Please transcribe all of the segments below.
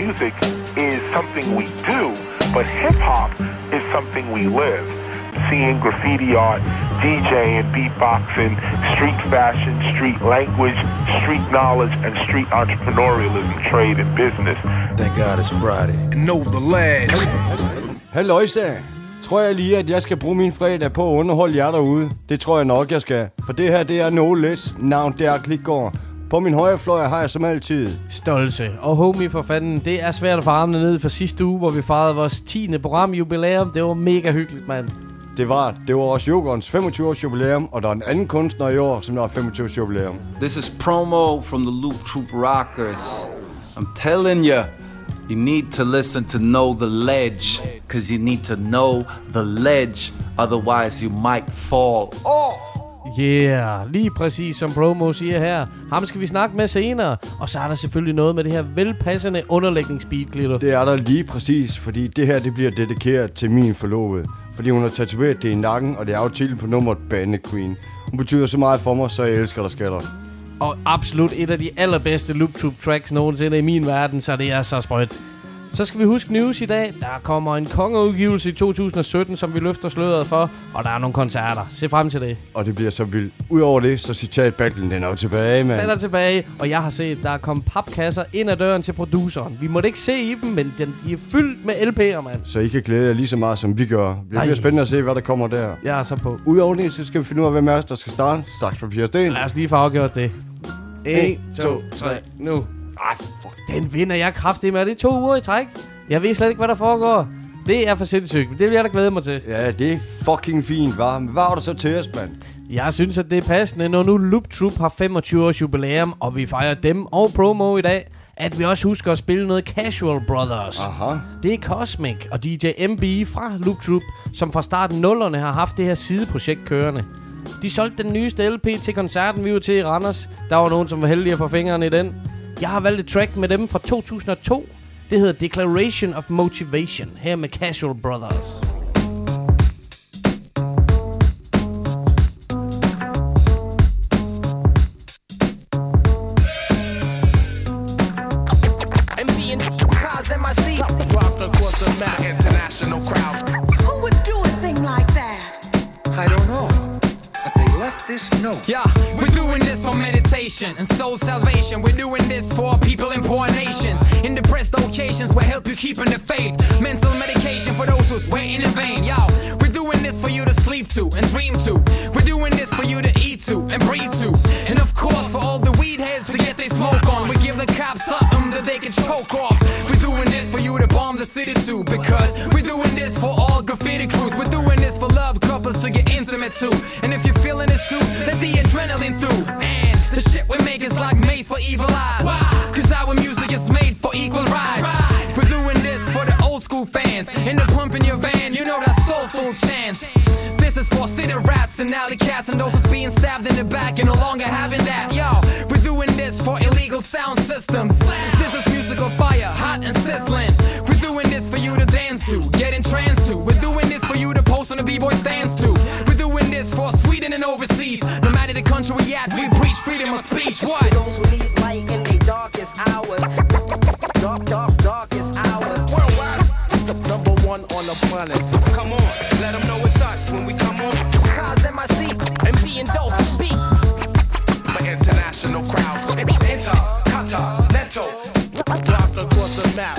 music is something we do, but hip-hop is something we live. Seeing graffiti art, DJing, beatboxing, street fashion, street language, street knowledge, and street entrepreneurialism, trade, and business. Thank God it's Friday. And know the lads. Halløjsa. Tror jeg lige, at jeg skal bruge min fredag på at underholde jer derude? Det tror jeg nok, jeg skal. For det her, det er No Less. Navn, det er Klitgaard. På min højre fløj har jeg som altid Stolse. Og homie for fanden, det er svært at få armene ned for sidste uge, hvor vi fejrede vores 10. program jubilæum. Det var mega hyggeligt, mand. Det var også Jokons 25-års jubilæum, og der er en anden kunstner i år, som der har 25-års jubilæum. This is promo from the Loop Troop Rockers. I'm telling you, you need to listen to Know the Ledge, because you need to know the ledge, otherwise you might fall off. Yeah, lige præcis som promo siger her. Ham skal vi snakke med senere. Og så er der selvfølgelig noget med det her velpassende underlægningsbeat, Glitter. Det er der lige præcis, fordi det her det bliver dedikeret til min forlovede. Fordi hun har tatoveret det i nakken, og det er jo titlen på nummeret Bande Queen. Hun betyder så meget for mig, så jeg elsker dig, skatter. Og absolut et af de allerbedste Loop Troop tracks nogensinde i min verden, så det er så sprødt. Så skal vi huske news i dag. Der kommer en kongeudgivelse i 2017, som vi løfter sløret for. Og der er nogle koncerter. Se frem til det. Og det bliver så vildt. Udover det, så citat-battlen, den er jo tilbage, mand. Den er tilbage, og jeg har set, der er kommet papkasser ind ad døren til produceren. Vi måtte ikke se i dem, men de er fyldt med LP'er, mand. Så I kan glæde jer lige så meget, som vi gør. Det bliver spændende at se, hvad der kommer der. Jeg er så på. Udover det, så skal vi finde ud af, hvem af os, der skal starte. Saks, papir, sten. Lad os lige få afgjort det. 1, 2, 3, nu. Ej, fuck. Den vinder jeg kraftigt med. Det er 2 uger i træk. Jeg ved slet ikke, hvad der foregår. Det er for sindssygt. Det vil jeg da glæde mig til. Ja, det er fucking fint, hva'? Hvad har du så til os, mand? Jeg synes, at det er passende, når nu Loop Troop har 25 års jubilæum, og vi fejrer dem og promo i dag, at vi også husker at spille noget Casual Brothers. Aha. Det er Cosmic og DJ MB fra Loop Troop, som fra starten 0'erne har haft det her sideprojekt kørende. De solgte den nyeste LP til koncerten, vi var til i Randers. Der var nogen, som var heldige at få fingrene i den. Jeg har valgt et track med dem fra 2002. Det hedder Declaration of Motivation, her med Casual Brothers. Yeah, we're doing this for meditation and soul salvation. We're doing this for people in poor nations. In depressed occasions, we'll help you keep in the faith. Mental medication for those who's waiting in vain. Yo, we're doing this for you to sleep to and dream to. We're doing this for you to eat to and breathe to. And of course, for all the weed heads to get their smoke on. We give the cops something that they can choke off. We're doing this for you to bomb the city too. Because we're doing this for all graffiti crews. We're doing this for love couples to get intimate too. And if you're feeling this too, let the adrenaline through. And the shit we make is like maze for evil eyes. Cause our music is made for equal rights. We're doing this for the old school fans. In the pump in your van, you know that soulful chance. This is for city rats and alley cats and those who's being stabbed in the back and no longer having that. Yo, we're doing this for illegal sound systems. This is musical fire, hot and sizzling. We're doing this for you to dance to, get entranced to. We're doing this for you to post on the b-boy stands to. We're doing this for Sweden and overseas. No matter the country we at, we preach freedom of speech. What? For those who need light in their darkest hours. Darkest hours. Worldwide, number one on the planet. Come on, let them know it's us when we come on. Cause in my seat and being dope beats. For international crowds. Intercontinental. Dropped across the map.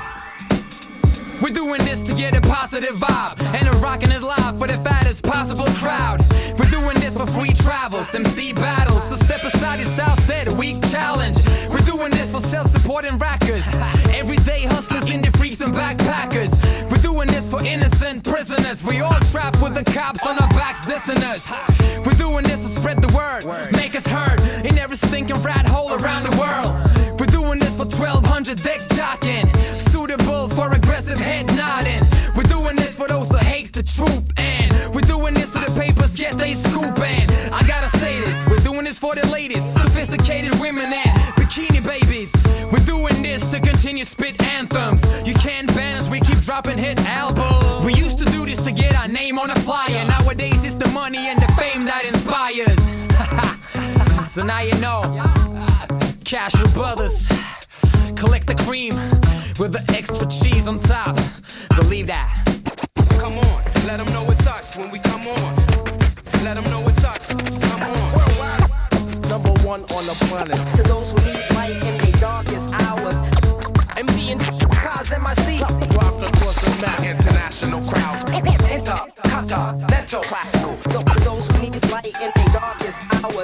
We're doing this to get a positive vibe and a rockin' it live for the fattest possible crowd. We're doing this for free travels, MC battles. So step aside your style set, a week challenge. We're doing this for self-supporting rackers, everyday hustlers, indie freaks and backpackers. We're doing this for innocent prisoners. We all trapped with the cops on our backs dissing us. We're doing this to spread the word, make us heard in every stinking rat hole around the world. We're doing this for 1200 deck jocking, suitable for aggressive head nodding. We're doing this for those who hate the truth, and we're doing this so the papers get they scoop. And I gotta say this, we're doing this for the ladies, sophisticated women and bikini babies. We're doing this to continue spit anthems. You can't ban us, we keep dropping hit albums. We used to do this to get our name on a flyer. Nowadays it's the money and the fame that inspires. So now you know, Casual Brothers, collect the cream. with the extra cheese on top. Believe that. Come on, let them know it's us when we come on. Let them know it's us. Come on. Number one on the planet. To those who need light in their darkest hours. MD and cars in my seat. Rock across the map. International crowds. Intercontinental classical. To those who need light in their darkest hours.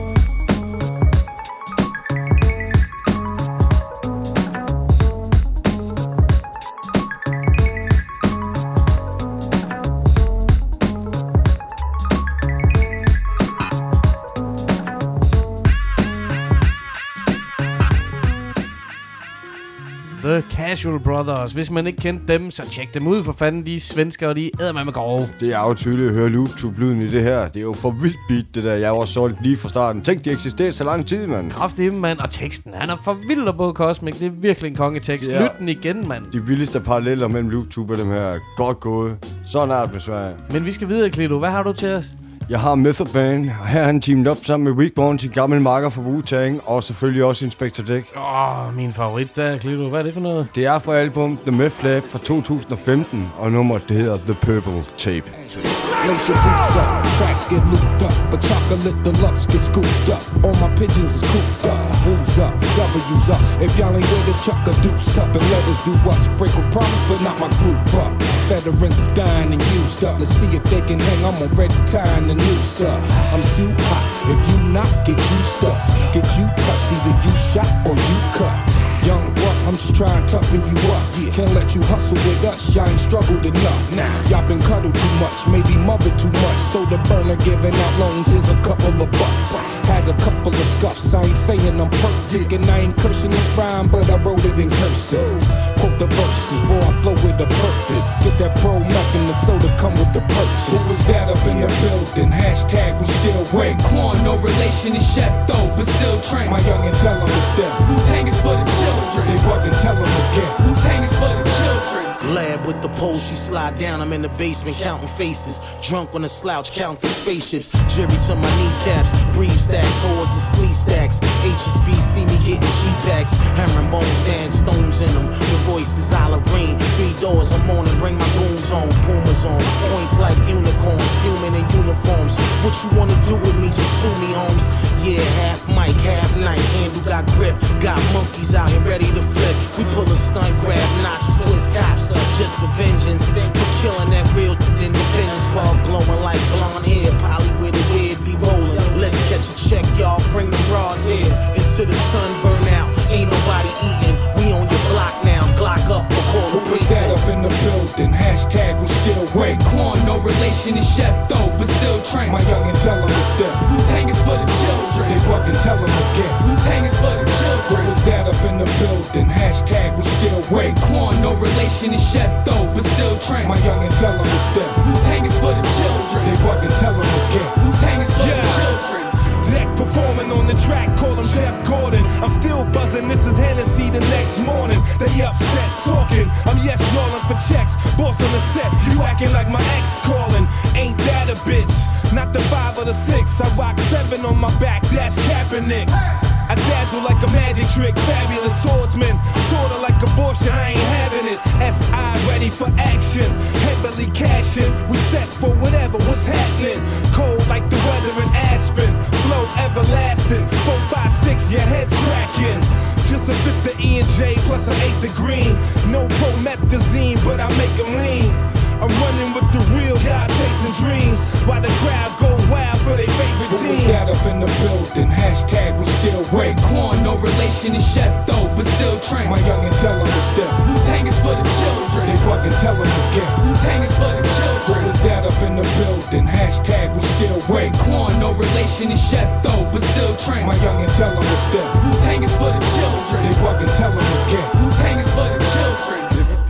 The Casual Brothers. Hvis man ikke kendte dem, så tjek dem ud for fanden. De svenskere, de æder med grove. Det er jo tydeligt at høre Loop-Tube-lyden i det her. Det er jo for vildt beat, det der. Jeg var solgt lige fra starten. Tænk, de eksisterer så lang tid, mand. Kraftig, mand. Og teksten, han er for vild og både Cosmic. Det er virkelig en kongetekst. Ja. Lyt den igen, mand. De vildeste paralleller mellem Loop-Tube og dem her. Godt gået. Sådan er det med Sverige. Men vi skal videre, Klito. Hvad har du til os? Jeg har Method Man, og her er han teamet op sammen med Weekborn, sin gamle makker fra Wu-Tang, og selvfølgelig også Inspector Deck. Min favorit der, Klito. Hvad er det for noget? Det er fra album The Meth Lab fra 2015, og nummeret det hedder The Purple Tape. Lace your boots up, tracks get looped up, but chocolate deluxe get scooped up. All my pigeons is cooped up. Who's up? W's up. If y'all ain't with us, chuck a deuce up and let us do us. Break a promise, but not my group up. Veterans is dying and used up. Let's see if they can hang. I'm already tying the noose up. I'm too hot. If you not, get you stuck. Get you touched. Either you shot or you cut. Young buck, I'm just trying to toughen you up. Can't let you hustle with us, y'all ain't struggled enough. Y'all been cuddled too much, maybe mothered too much. So the burner giving out loans, here's a couple of bucks. Had a couple of scuffs, I ain't saying I'm perfect. And I ain't cursing the rhyme, but I wrote it in cursive. Quote the verses, boy, I flow with a purpose. Get that pro muck and the soda come with the purchase. Who was that up in the building? Hashtag we still wait. Corn, no relation to Chef though, but still train. My youngin' tell him to step. Wu-Tang is for the children. They fucking tell him again. Wu-Tang is for the children. Lab with the pole, she slide down, I'm in the basement counting faces. Drunk on a slouch, counting spaceships. Jerry to my kneecaps, breathe stacks, whores and sleeve stacks. HSB see me getting G-packs, hammering bones, and stones in them. The voice is Irene, 3 doors, I'm on and bring my goons on. Pumas on, points like unicorns, fuming in uniforms. What you wanna do with me, just sue me, Holmes. Yeah, half mic, half night, handle got grip. Got monkeys out here ready to flip. We pull a stunt, grab notches, twist cops. Just for vengeance, for killing that real independence while glowing like blonde hair. Polly with a weird be rolling. Let's catch a check, y'all. Bring them rods here into the sun, burn out. Ain't nobody eating. We on your block now. Glock up or call the police. That up in the building. Hashtag we still wait. Corn, no relation to Chef though, but still train. My youngin' tell him to step. Wu-Tang is for the children. They fucking tell him again. Wu-Tang is for the children. Who was that up in the building? Hashtag we still wait. Corn, no relation to Chef though, but still train. My youngin' tell him to step. Wu-Tang is for the children. They fucking tell him again. Wu-Tang is for the children. Deck performing on the track, call him Jeff Gordon. I'm still buzzing, this is Hennessy the next morning. They upset talking, I'm yes rolling for checks. Boss on the set, you acting like my ex calling. Ain't that a bitch? Not the 5 or the 6. I rock 7 on my back, that's Kaepernick. I dazzle like a magic trick, fabulous swordsman. Sorta like abortion, I ain't having it. S.I. ready for action, heavily cashing. We set for whatever, what's happening. Cold like the weather in Aspen, flow everlasting. 4, 5, 6, your head's cracking. Just a fifth of E&J plus an eighth of green. No promethazine, but I make them lean. I'm running with the real guys chasing dreams, while the crowd go wild for their favorite team. Who was that up in the building? Hashtag we still wait. Corn, no relation to Chef though, but still train. My youngin' tell him to step. Wu-Tang is for the children. They fucking tell him again. Wu-Tang is for the children. Who was that up in the building? Hashtag we still wait. Corn, no relation to Chef though, but still train. My youngin' tell him to step. Wu-Tang is for the children. They fucking tell him again. Wu-Tang is for the children.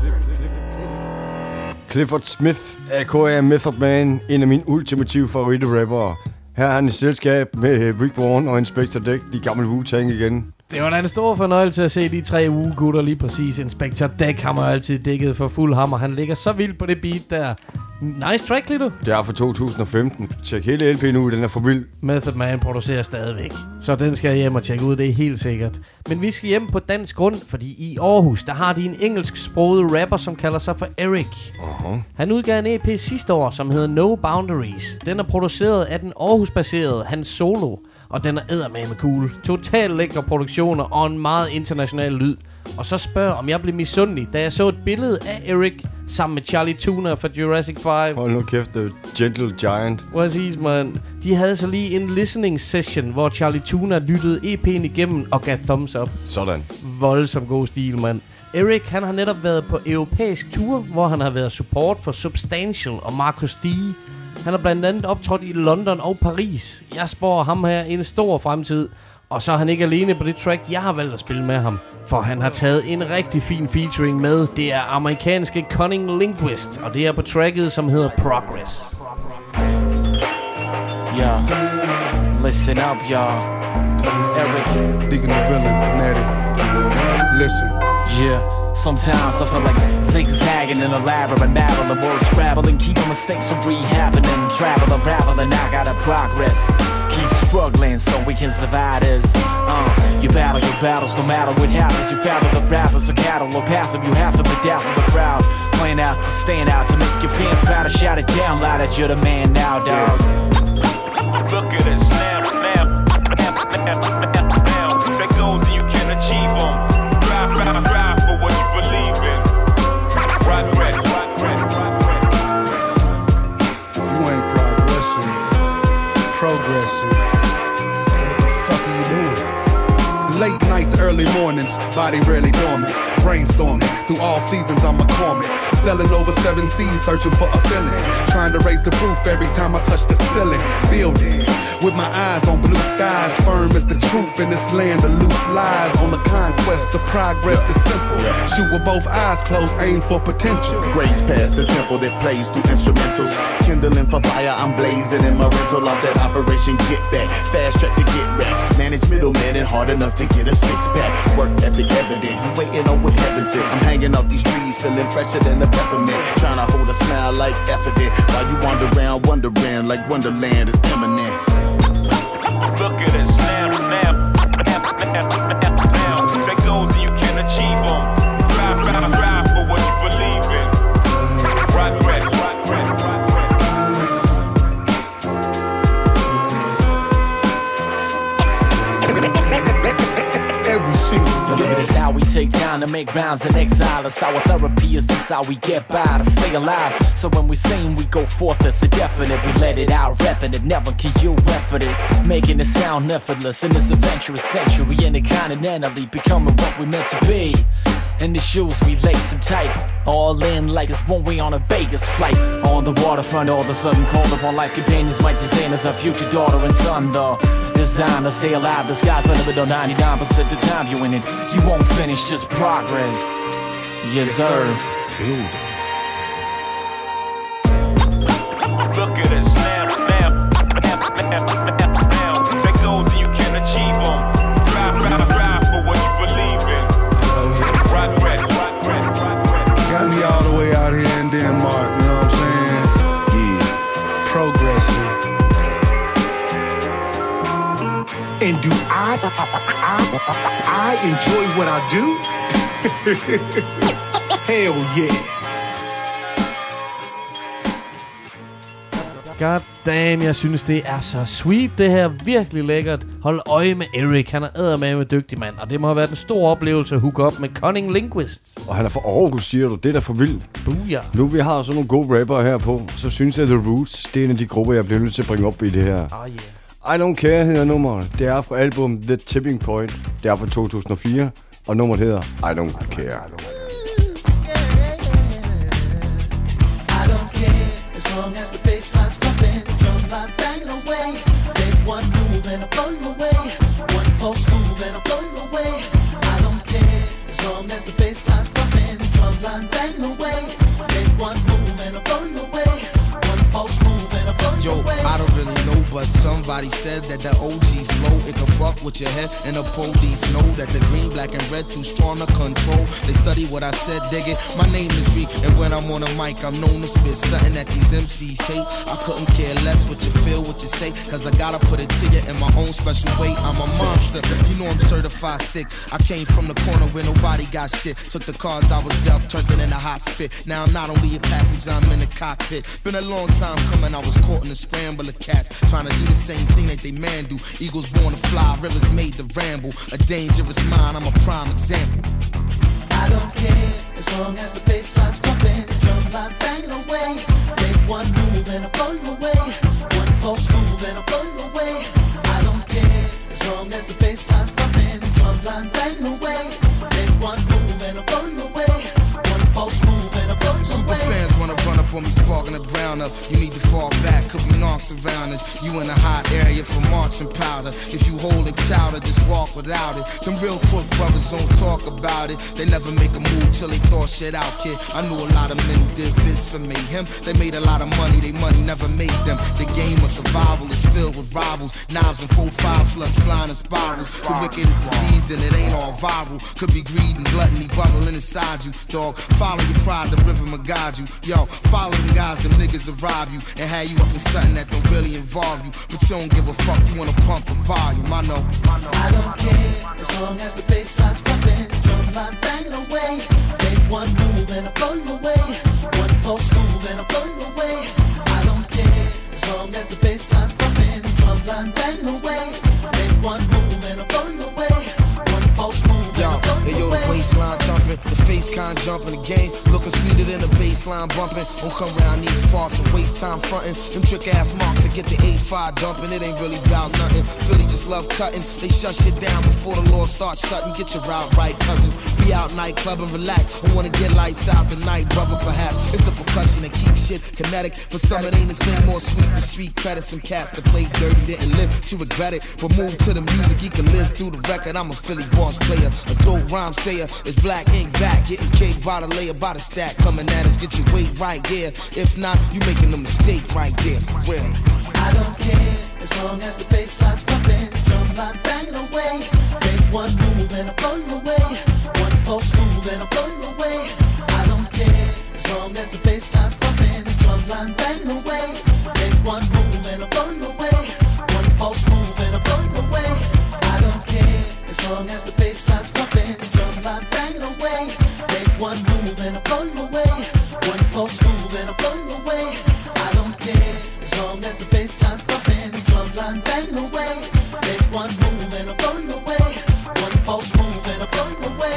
Clifford Smith, a.k.a. Method Man, en af mine ultimative favoritte-rappere. Her er han i selskab med Weekborn og Inspector Deck, de gamle Wu-Tang igen. Det var da en stor fornøjelse at se de 3 ugegutter lige præcis. Inspector Deck har man altid dækket for fuld hammer. Han ligger så vildt på det beat der. Nice track, Lito. Det er fra 2015. Tjek hele LP'en ud, den er for vild. Method Man producerer stadigvæk. Så den skal jeg hjem og tjekke ud, det er helt sikkert. Men vi skal hjem på dansk grund, fordi i Aarhus, der har de en engelsksproget rapper, som kalder sig for Eric. Han udgav en EP sidste år, som hedder No Boundaries. Den er produceret af den Aarhus-baserede Hans Solo, og den er eddermame cool. Totalt lækre produktioner og en meget international lyd. Og så spørg, om jeg blev misundelig, da jeg så et billede af Eric sammen med Charlie Tuna fra Jurassic 5. Hold nu kæft, The Gentle Giant. Præcis, man. De havde så lige en listening session, hvor Charlie Tuna lyttede EP'en igennem og gav thumbs up. Sådan. Voldsom god stil, mand. Eric, han har netop været på europæisk tour, hvor han har været support for Substantial og Marcus D. Han har blandt andet optrådt i London og Paris. Jeg spår ham her en stor fremtid. Og så er han ikke alene på det track, jeg har valgt at spille med ham. For han har taget en rigtig fin featuring med. Det er amerikanske Cunning Linguist, og det er på tracket, som hedder Progress. Yeah, listen up, y'all. Eric. Digging the villain, Natty. Listen. Yeah. Sometimes I feel like zigzagging in a labyrinth, battling words, scrabbling, keeping mistakes from rehabbing and travel, unraveling. I gotta progress. Keep struggling so we can survive this. You battle your battles no matter what happens. You battle the rappers, a cattle or passive. You have to bedazzle the crowd, playing out to stand out to make your fans proud. To shout it down loud that you're the man now, dog. Look at us now. That goals and you can achieve them. Drive for what you believe in. Progress. You ain't progressing. What the fuck are you doing? Late nights, early mornings, body rarely dormant. Brainstorming, through all seasons I'm a McCormick. Selling over 7 seas, searching for a feeling. Trying to raise the roof every time I touch the ceiling. Building, with my eyes on blue skies. Firm as the truth in this land of loose lies. On the conquest, the progress is simple. Shoot with both eyes closed, aim for potential. Grace past the temple that plays through instrumentals. Kindling for fire, I'm blazing in my rental off that Operation Get Back. Fast track to get racks. Manage middlemen and hard enough to get a 6-pack. Work ethic evident, you waiting on what heaven said. I'm hanging off these trees, feeling fresher than a peppermint. Trying to hold a smile like evident. While you wander around wondering like Wonderland is imminent. Look at us now. That goals and you can achieve them. Drive for what you believe in. Progress. Every single day. This is how we take time to make rounds and exile us. Our therapy is this how we get by to stay alive. So when we sing, we go forth as a definite. We let it out, repping it, never can you effort it. Making it sound effortless in this adventurous century. Intercontinentally becoming what we meant to be. And the shoes we lace them tight. All in like it's one way on a Vegas flight. On the waterfront, all of a sudden called upon life companions like designers, our future daughter and son, though. Designed to stay alive, the sky's the limit on 99% the time you in it. You won't finish, just progress. Yes, sir. Look at us now. That goals and you can achieve them. Drive for what you believe in. Progress. Got me all the way out here in Denmark, you know what I'm saying? Yeah. Progressing. And do I enjoy what I do? Hell yeah. God damn, jeg synes, det er så sweet, det her. Virkelig lækkert. Hold øje med Eric. Han er eddermame dygtig mand, og det må have været en stor oplevelse at hook op med Cunning Linguist. Og han er fra Aarhus, siger du. Det er da for vildt. Ja. Nu vi har sådan nogle gode rappere her på, så synes jeg, The Roots, det er en af de grupper, jeg bliver nødt til at bringe op i det her. I Don't Care hedder nummeret. Det er fra album The Tipping Point. Det er fra 2004, og nummeret hedder I Don't Care. As long as the bassline's pumping, the drum line banging away. Make one move and I blow you away. One false move and I blow you away. I don't care. As long as the bassline's pumping, the drum line banging away. Make one move and I blow you away. One false move and I blow you away. I don't really know, but some Somebody said that the OG flow, it could fuck with your head. And the police know that the green, black, and red too strong to control. They study what I said, dig it. My name is Reek, and when I'm on a mic, I'm known to spit something that these MCs hate. I couldn't care less what you feel, what you say, cause I gotta put it to you in my own special way. I'm a monster, you know I'm certified sick. I came from the corner where nobody got shit. Took the cards I was dealt, turned it into hot spit. Now I'm not only a passenger, I'm in the cockpit. Been a long time coming, I was caught in a scramble of cats, trying to do the same thing that they man do. Eagles born to fly, rivers made to ramble. A dangerous mind, I'm a prime example. I don't care, as long as the bass line's pumping, the drum line banging away. Make one move and I blow you away. One false move and I blow you away. I don't care, as long as the bass line's pumping, the drum line banging away. Make one move and I blow you away. One false move and I blow you away. Super fans wanna run up on me, sparking the brown up. You need to fall back, could be knocks around us. You in a hot area for marching powder. If you holding chowder, just walk without it. Them real crook brothers don't talk about it. They never make a move till they thought shit out, kid. I knew a lot of men who did bits for mayhem. They made a lot of money, they money never made them. The game of survival is filled with rivals. Knives and 4-5 slugs flying in spirals. The wicked is diseased and it ain't all viral. Could be greed and gluttony bubbling inside you. Dog, follow your pride, the river will guide you. Yo, follow them guys, them niggas will rob you and have you up in something that don't really involve you. But you don't give a fuck, you wanna pump the volume, I know. I don't care, as long as the bass line's pumping, the drum line banging away. Make one move and I blow you away. One false move and I blow you away. I don't care, as long as the bass line's pumping, the drum line banging away. Make one move and I blow you away. One false move and I blow you away. Yo, the waistline thumping, the face con jumping, the game looking sweeter than the baseline bumping. Don't come around these parts and waste time fronting. Them trick ass marks that get the 8-5 dumping. It ain't really about nothing. Philly just love cutting. They shut shit down before the law starts shutting. Get your route right, cousin. Be out nightclub and relax. Don't wanna get lights out tonight, brother, perhaps. It's the percussion that keeps shit kinetic. For some it ain't, it's been more sweet. The street credit, some cats that play dirty didn't live to regret it. But move to the music, you can live through the record. I'm a Philly boss player, a dope rhyme sayer. It's black ink back, getting cake by the layer, by the stack. Coming at us, get your weight right there. If not, you making a mistake right there, for real. I don't care, as long as the bass line's pumping, the drum line banging away. Make one move and I blow you away. One false move and I blow you away. I don't care, as long as the bass line's pumping, the drum line banging away. Make one move and I blow you away. One false move and I blow you away. I don't care, as long as the bass line's pumping, the drum line banging away. Make one move and I blow you away. One false move and I blow you away. I don't care, as long as the bass line's pumping, the drum line banging away. Make one move and I blow you away. One false move and I blow you away.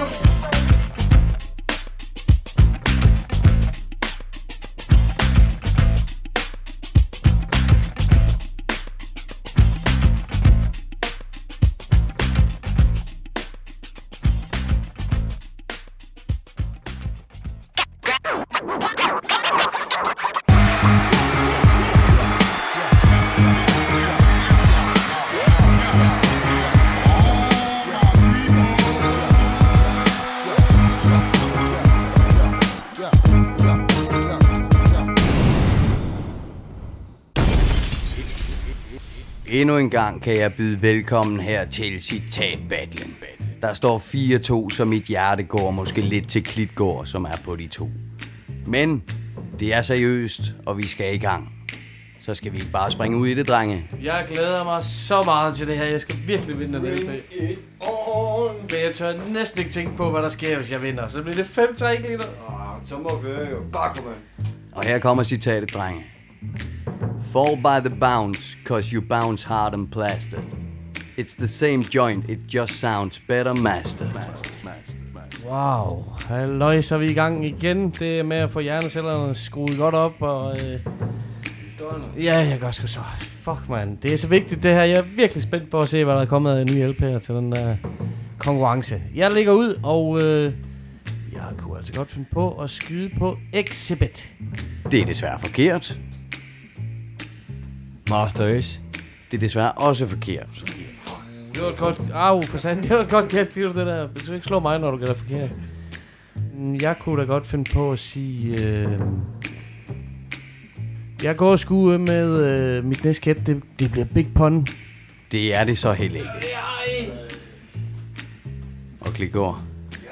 Endnu en gang kan jeg byde velkommen her til citatbattlen. Der står 4-2, så mit hjerte går måske lidt til Klitgård, som er på de to. Men det er seriøst, og vi skal i gang. Så skal vi ikke bare springe ud i det, drenge. Jeg glæder mig så meget til det her. Jeg skal virkelig vinde den LP. Men jeg tør næsten ikke tænke på, hvad der sker, hvis jeg vinder. Så bliver det 5-3 liter. Så må vi jo bare komme. Og her kommer citatet, drenge. Fall by the bounce, cause you bounce hard and plastered. It's the same joint, it just sounds better mastered. Wow, halløj, så er vi i gang igen. Det er med at få hjernecellerne skruet godt op, og... Ja, jeg gør sgu så. Fuck, man. Det er så vigtigt, det her. Jeg er virkelig spændt på at se, hvad der er kommet af nye LP'er til den der konkurrence. Jeg ligger ud, og jeg kunne altså godt finde på at skyde på Exhibit. Det er desværre forkert. Master Ace. Det er desværre også forkert. Det var et godt... for satan, det var et godt gæt, det der. Du skal ikke slå mig, når du gælder forkert. Jeg kunne da godt finde på at sige... Jeg går sgu med mit næste gæt. Det bliver Big Pun. Det er det så heller ikke. Og klik over.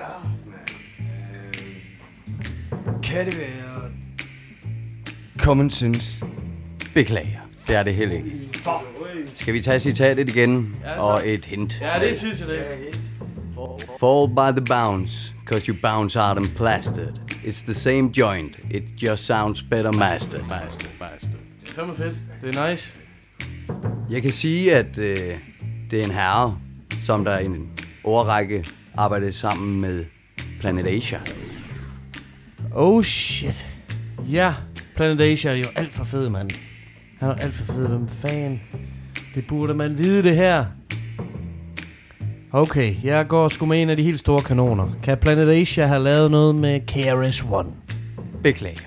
Kan det være Common Sense? Beklager, det er det heller ikke. Skal vi tage citatet igen og et hint? Ja, det er tid til det. Fall by the bounce, cause you bounce out and plastered. It's the same joint, it just sounds better mastered. Det er fandme fedt. Det er nice. Jeg kan sige, at det er en herre, som der i en årrække arbejdede sammen med Planet Asia. Oh shit. Ja, Planet Asia er jo alt for fed, mand. Han er alt for fed. Hvem fan? Det burde man vide, det her. Okay, jeg går sgu med en af de helt store kanoner. Kan Planet Asia have lavet noget med KRS-One? Beklager.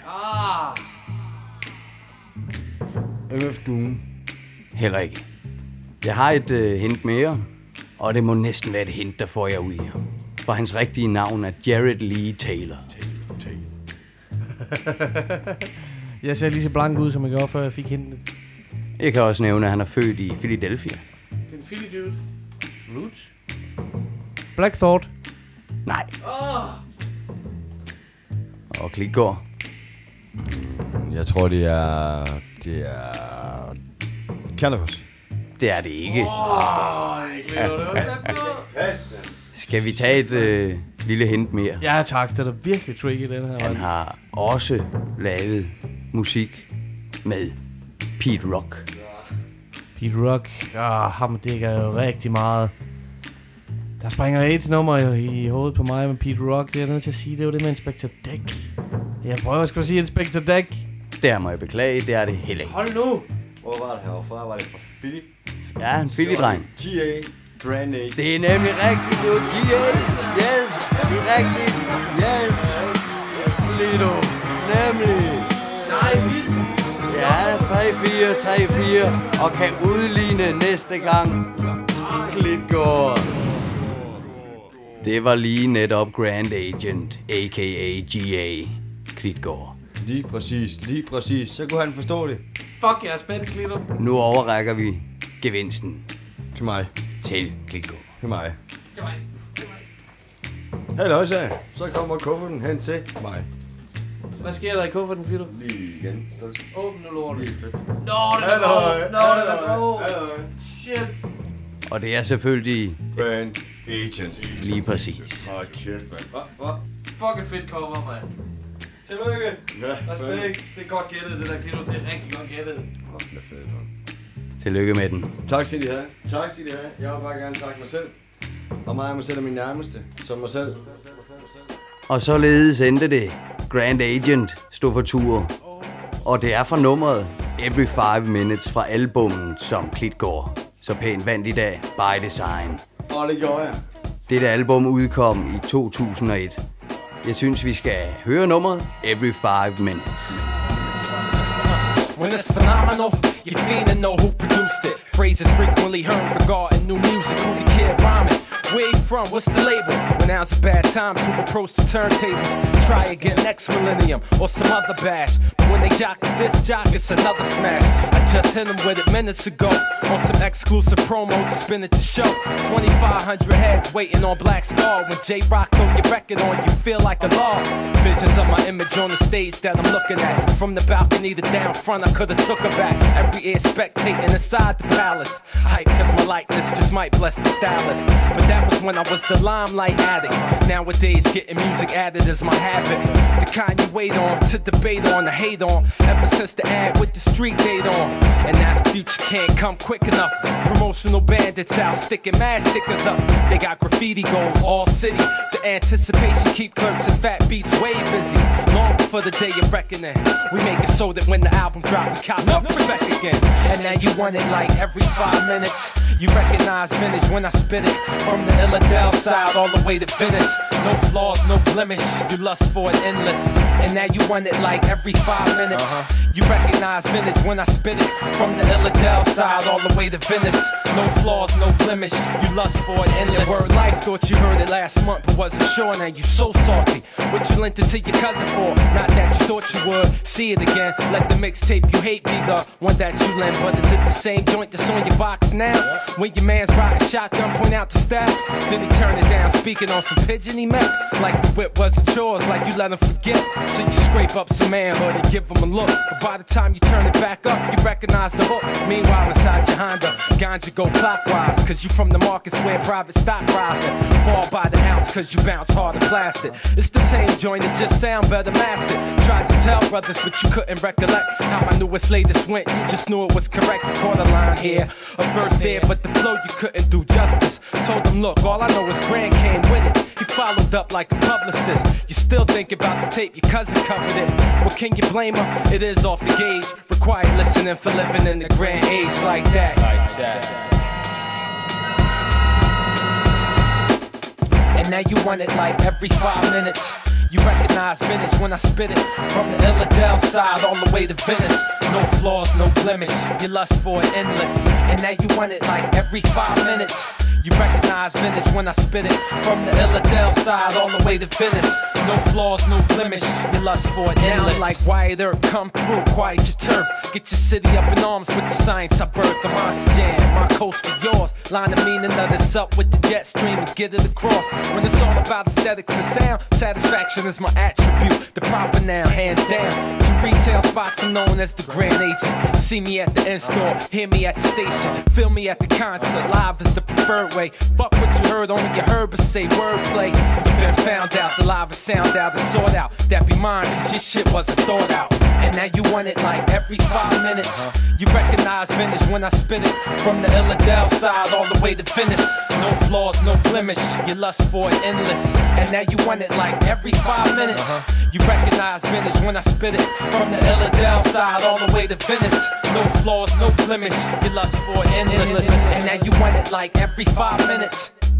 MF Doom. Heller ikke. Jeg har et hint mere, og det må næsten være et hint, der får jeg ud her. For hans rigtige navn er Jared Lee Taylor. Jeg ser lige så blank ud, som jeg gjorde, før jeg fik hintet. Jeg kan også nævne, at han er født i Philadelphia. Det er en Philly dude. Roots. Black Thought. Nej. Og Klitgaard. Jeg tror, det er Cannabis. Det er det ikke. Skal vi tage et lille hint mere? Ja tak, det er da virkelig tricky, den her. Han har også lavet musik med Pete Rock. Pete Rock, ham dækker jo rigtig meget. Der springer et nummer i hovedet på mig med Pete Rock. Det er jeg nødt til at sige, det er jo det med Inspector Deck. Jeg prøver sgu at sige Inspector Deck. Der må jeg beklage, det er det heller ikke. Hold nu! Hvor var det herfra? Var det fra Philly? Ja, en Philly-dreng. G.A. Grand A. Det er nemlig rigtigt, det var G.A. Yes, det er rigtigt. Yes. Lido. Nemlig. Nej, vildt. Ja, 3-4 og kan udligne næste gang. Klitgaard. Det var lige netop Grand Agent, a.k.a. G.A. Klitgaard. Lige præcis. Så kunne han forstå det. Fuck, jeg er spændt, Klitgaard. Nu overrækker vi gevinsten. Til mig. Til Klitgaard. Til mig. Halløj, så kommer kufferten hen til mig. Hvad sker der i kufferten, Klitgaard? Lige igen. Åbn nu lortet. Nå, det er grå. Shit. Og det er selvfølgelig Grand Agent. Lige præcis. Hold kæft, mand. Hvad? Fucking fedt cover, mand. Tillykke. Ja, respekt. Det er godt gættet, det der Klitgaard. Det er rigtig godt gættet. Det er fedt, mand. Tillykke med den. Tak skal I have. Jeg vil bare gerne takke mig selv. Og mig selv er min nærmeste. Som mig selv. Og således endte det. Grand Agent stod for tur. Og det er fra nummeret Every 5 Minutes fra albummet, som Klitgaard så pænt vandt i dag, By Design. Og det gjorde jeg. Dette album udkom i 2001. Jeg synes, vi skal høre nummeret Every 5 Minutes. When it's phenomenal, you finna know who produced it. Phrases frequently heard regarding new music. Who the kid rhyming? Where you from? What's the label? When now's a bad time to approach the turntables. Try again next millennium or some other bash. But when they jock the disc jock, it's another smash. I just hit them with it minutes ago on some exclusive promo to spin at the show. 2,500 heads waiting on Black Star. When J-Rock throw your record on, you feel like a law. Visions of my image on the stage that I'm looking at. From the balcony to down front, I could've took her back. Every ear spectating inside the palace. Hype cause my likeness just might bless the stylist. But that was when I was the limelight addict. Nowadays getting music added is my habit. The kind you wait on, to debate on, to hate on. Ever since the ad with the street date on. And now the future can't come quick enough. Promotional bandits out sticking mad stickers up. They got graffiti goals all city. The anticipation keep clerks and fat beats way busy. Long before the day of reckoning. We make it so that when the album drop, we cop up respect again. And now you want it like every 5 minutes. You recognize vintage when I spit it. From the Illadale side all the way to Venice. No flaws, no blemish. You lust for it endless. And now you want it like every 5 minutes. You recognize vintage when I spit it. From the Illadelph side all the way to Venice. No flaws, no blemish. You lust for it endless. Word life, thought you heard it last month, but wasn't sure. Now you so salty. What you lent it to your cousin for? Not that you thought you would. See it again. Let the mixtape you hate be the one that you lend. But is it the same joint that's on your box now? When your man's riding shotgun, point out the stab. Then he turned it down, speaking on some pigeon he met. Like the whip wasn't yours, like you let him forget. So you scrape up some manhood and give him a look. But by the time you turn it back up, you recognize the hook. Meanwhile, inside your Honda, ganja go clockwise. Cause you from the markets where private stock rising. Fall by the ounce cause you bounce hard and plastic. It's the same joint, it just sound better mastered. Tried to tell brothers, but you couldn't recollect how my newest latest went. You just knew it was correct. You caught a line here, a verse there, but the flow you couldn't do justice. Told them, look, all I know is Grand came with it. He followed up like a publicist. You still think about the tape, your cousin covered it. Well, can you blame her? It is off the gauge. Required listening for living in the grand age like that. And now you want it like every 5 minutes. You recognize vintage when I spit it. From the Illadelph side all the way to Venice. No flaws, no blemish. You lust for it endless. And now you want it like every 5 minutes. You recognize vintage when I spit it. From the Illadelph side all the way to Venice. No flaws, no blemish. You lust for it endless. Now like Wyatt Earp, come through, quiet your turf. Get your city up in arms with the science I birthed. The Monster Jam, my coast to yours. Line the meaning of this up with the jet stream and get it across. When it's all about aesthetics and sound, satisfaction is my attribute. The proper now, hands down. To retail spots I'm known as the Grand Agent. See me at the in-store, hear me at the station. Feel me at the concert, live is the preferred way. Fuck what you heard, only you heard, but say wordplay. You been found out, the live is sound out, the sort out. That be mine, cause your shit wasn't thought out. And now you want it like every 5 minutes. You recognize vintage when I spit it. From the Illadelph side all the way to Venice. No flaws, no blemish. You lust for it endless. And now you want it like every 5 minutes. You recognize vintage when I spit it. From the Illadelph side all the way to Venice. No flaws, no blemish. You lust for it endless. And now you want it like every 5 minutes.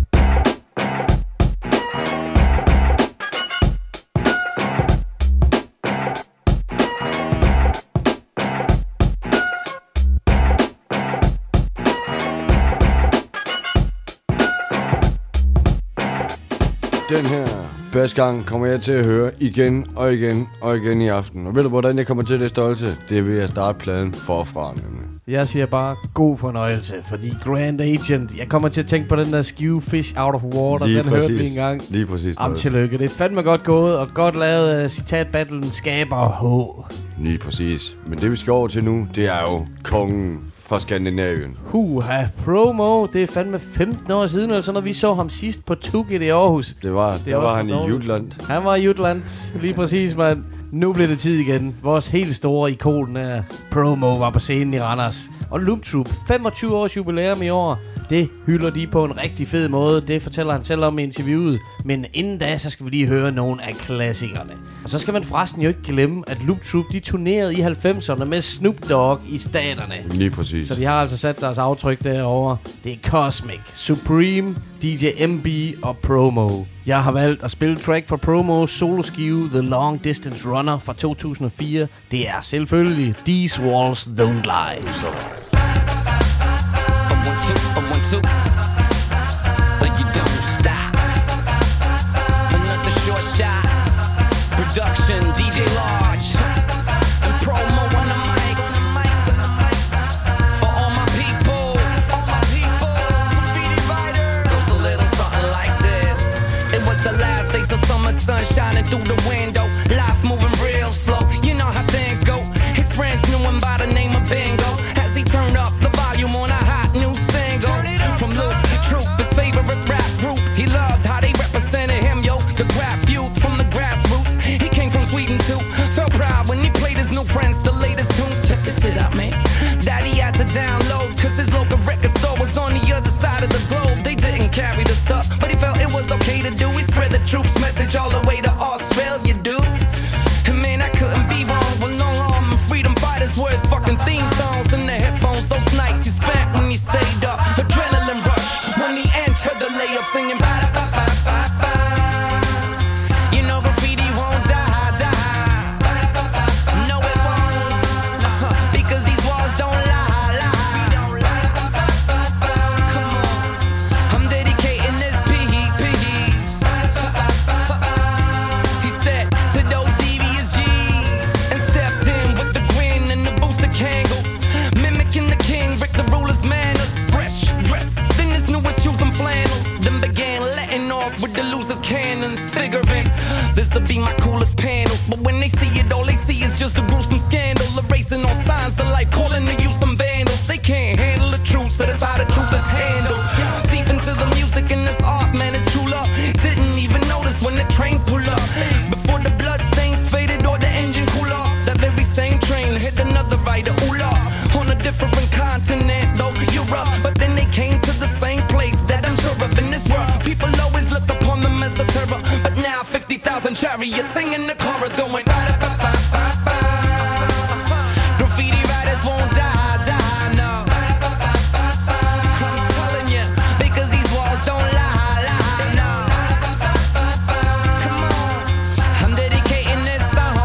Den her basgang kommer jeg til at høre igen og igen og igen i aften. Og ved du, hvordan jeg kommer til det stolte? Det er ved at starte pladen forfra, nemlig. Jeg siger bare god fornøjelse, fordi Grand Agent, jeg kommer til at tænke på den der Skew Fish Out of Water, lige den præcis. hørte vi engang. Lige præcis. Am tillykke, det er fandme godt gået, og godt lavet citatbattlen skaber H. Lige præcis. Men det vi skal over til nu, det er jo kongen fra Skandinavien. Huha, Promo, det er fandme 15 år siden, eller sådan noget. Vi så ham sidst på Tukit i Aarhus. Der var han i Jutland. Han var i Jutland, lige præcis, mand. Nu bliver det tid igen. Vores helt store ikon er Promo var på scenen i Randers. Og Loop Troop, 25 års jubilæum i år. Det hylder de på en rigtig fed måde. Det fortæller han selv om i interviewet. Men inden da, så skal vi lige høre nogle af klassikerne. Og så skal man forresten jo ikke glemme, at Loop Troop, de turnerede i 90'erne med Snoop Dogg i staterne. Lige præcis. Så de har altså sat deres aftryk derovre. Det er Cosmic, Supreme, DJ MB og Promo. Jeg har valgt at spille track for Promos soloskive The Long Distance Runner fra 2004. Det er selvfølgelig These Walls Don't Lie. Så. Production, DJ Large, and Promo on the mic. For all my people, graffiti writers. Goes a little something like this. It was the last days of summer sun shining through the window. Life moving real slow, you know how things go. His friends knew him by the name of Bingo. As he turned with the losers cannons, figuring this'll be my coolest panel. But when they see it, all they see is just a gruesome scandal, erasing all signs of life, calling to you some vandals. They can't handle the truth, so that's how the truth is handled. Deep into the music and this art, man, it's true love. Didn't even notice when the train pulled up. Before the blood stains faded or the engine cool off, that very same train hit another rider, ooh, on a different continent, though Europe. But then they came to the same place that I'm sure of in this world. People always look upon them as a terror, but now 50,000 chariots singing the chorus going ba-da-ba-ba-ba-ba. Graffiti writers won't die, no. I'm telling you, because these walls don't lie, no. Come on, I'm dedicating this song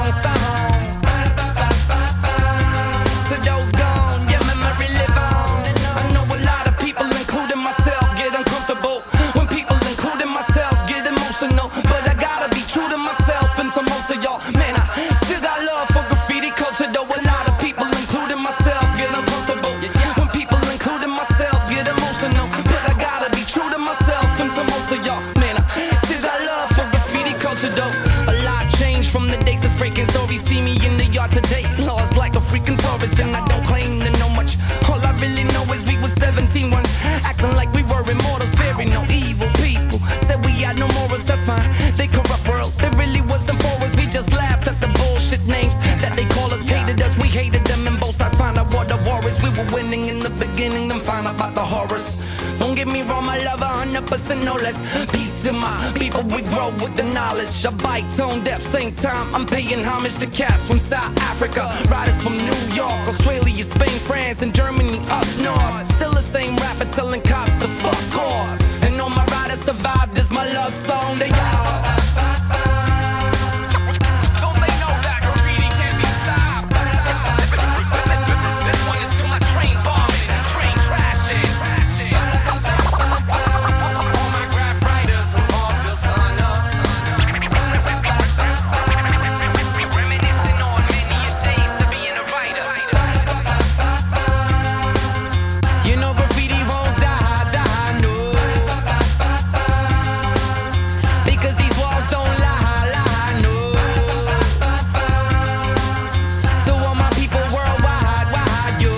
to those gone, your memory live on. I know a lot of people, including myself, get uncomfortable when people, including myself, get emotional. But I gotta be true to myself and to most of y'all. Man, I still got love for graffiti culture, though a lot of people, including myself, get uncomfortable when people, including myself, get emotional. But I gotta be true to myself and to most of y'all. Man, I still got love for graffiti culture, though a lot changed from the days that's breaking stories. See me in the yard today, lost like a freaking tourist, and I don't claim to know much. All I really know is we was 17 once, acting like we were immortals, fearing no evil people. Said we had no morals, that's fine. They corrupt world, they really wasn't for us. We just laughed at the bullshit names that they call us, hated us, we hated them, and both sides found out what the war is. We were winning in the beginning, then found out about the horrors. Don't get me wrong, I love 100% no less. Peace to my people, we grow with the knowledge. I bite tone deaf, same time I'm paying homage to cats from South Africa, riders from New York, Australia, Spain, France, and Germany up north. Still the same rapper telling cops to fuck off. And all my riders survived, this my love song to y'all. Don't they know that graffiti can't be stopped? This one is to my train bombing and train crashing. All my graph writers off the sun up. Reminiscing on many a days of being a writer. You know graffiti won't die, no. Because these walls don't lie, no. To all my people worldwide, yo.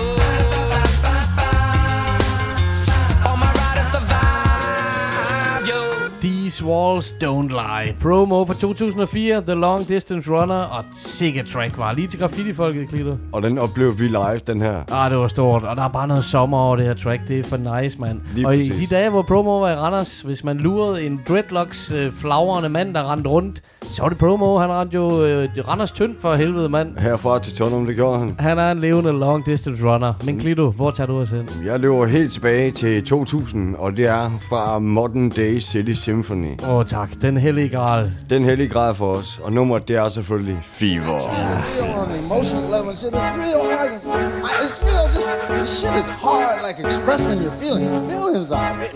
All my riders survive, yo. These Walls Don't Lie. Promo fra 2004, The Long Distance Runner, og sikkert track var lige til graffiti-folket, Klito. Og den oplevede vi live, den her. Det var stort, og der er bare noget sommer over det her track. Det er for nice, mand. Lige og præcis. i de dage, hvor Promo var i Randers, hvis man lurede en dreadlocks flagrende mand, der rendte rundt, så var det Promo. Han rendte jo Randers tyndt for helvede, mand. Herfra til Tøndrum, det gjorde han. Han er en levende long distance runner. Men Klito, hvor tager du os hen? Jeg løber helt tilbage til 2000, og det er fra Modern Day City Symphony. Tak. Den hellige gral. Den hellige gral for os. Og nummeret, det er selvfølgelig Fever. On the emotional level and shit, it's real hard. It's real, just this shit is hard, like expressing your feelings. Your feelings are, bitch.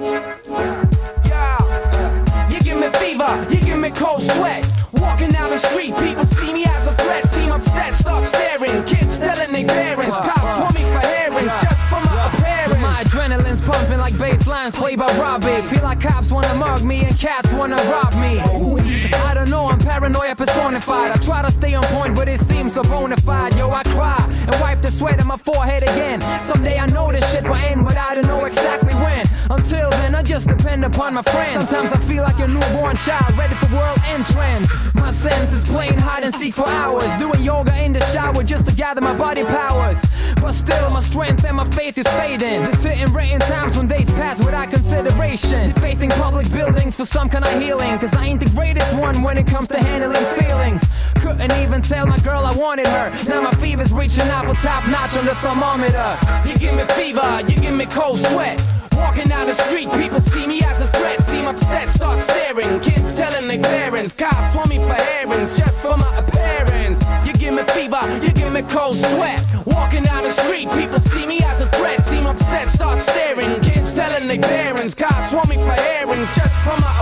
You give me fever, you give me cold sweat. Walking down the street, people see me as a threat. Seem upset, start staring. Kids telling their parents. Cops want me for hearings just for my appearance. My adrenaline's pumping like bass lines played by Robbie. Feel like cops wanna mug me and cats wanna rob me. I don't know, I'm paranoia personified. I try to stay on point, but it seems so bona fide. Yo, I cry and wipe the sweat on my forehead again. Someday I know this shit will end, but I don't know exactly when. Until then, I just depend upon my friends. Sometimes I feel like a newborn child, ready for world end trends. My senses playing hide and seek for hours, doing yoga in the shower just to gather my body powers. But still, my strength and my faith is fading. There's certain written times when days pass without consideration. Defacing public buildings for some kind of healing, cause I ain't the greatest one when it comes to handling feelings. Couldn't even tell my girl I wanted her. Now my fever's reaching out for top notch on the thermometer. You give me fever, you give me cold sweat. Walking down the street, people see me as a threat. Seem upset, start staring. Kids telling their parents. Cops want me for hearings just for my appearance. You give me fever, you give me cold sweat. Walking down the street, people see me as a threat. Seem upset, start staring. Kids telling their parents. Cops want me for hearings just for my appearance.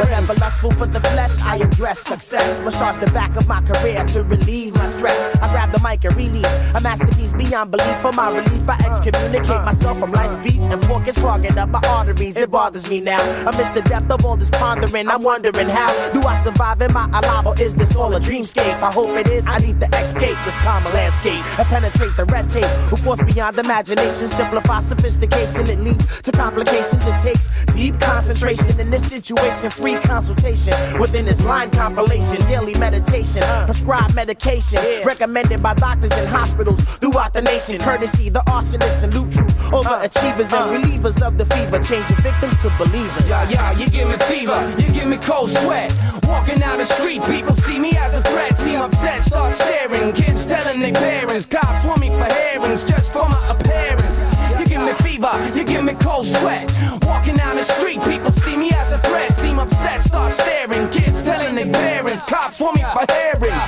Whenever lustful for the flesh, I address success. Massage the back of my career to relieve my stress. I grab the mic and release a masterpiece beyond belief. For my relief, I excommunicate myself from life's beef. And pork is clogging up my arteries. It bothers me now. Amidst the depth of all this pondering, I'm wondering how do I survive in my alive, or is this all a dreamscape? I hope it is. I need to escape this calmer landscape and penetrate the red tape. Who force beyond imagination, simplify sophistication. It leads to complications. It takes deep concentration in this situation. Free consultation within this line compilation. Daily meditation, prescribed medication, recommended by doctors in hospitals throughout the nation. Courtesy the arsonists and loop troop overachievers and relievers of the fever, changing victims to believers. Yeah, you give me fever, you give me cold sweat. Walking down the street, people see me as a threat. Seem upset, start staring. Kids telling their parents, cops want me for hearings just for my appearance. You give me fever, you give me cold sweat. Walking down the street, people see me as a threat. Seem upset, start staring. Kids telling their parents, cops want me for hearings.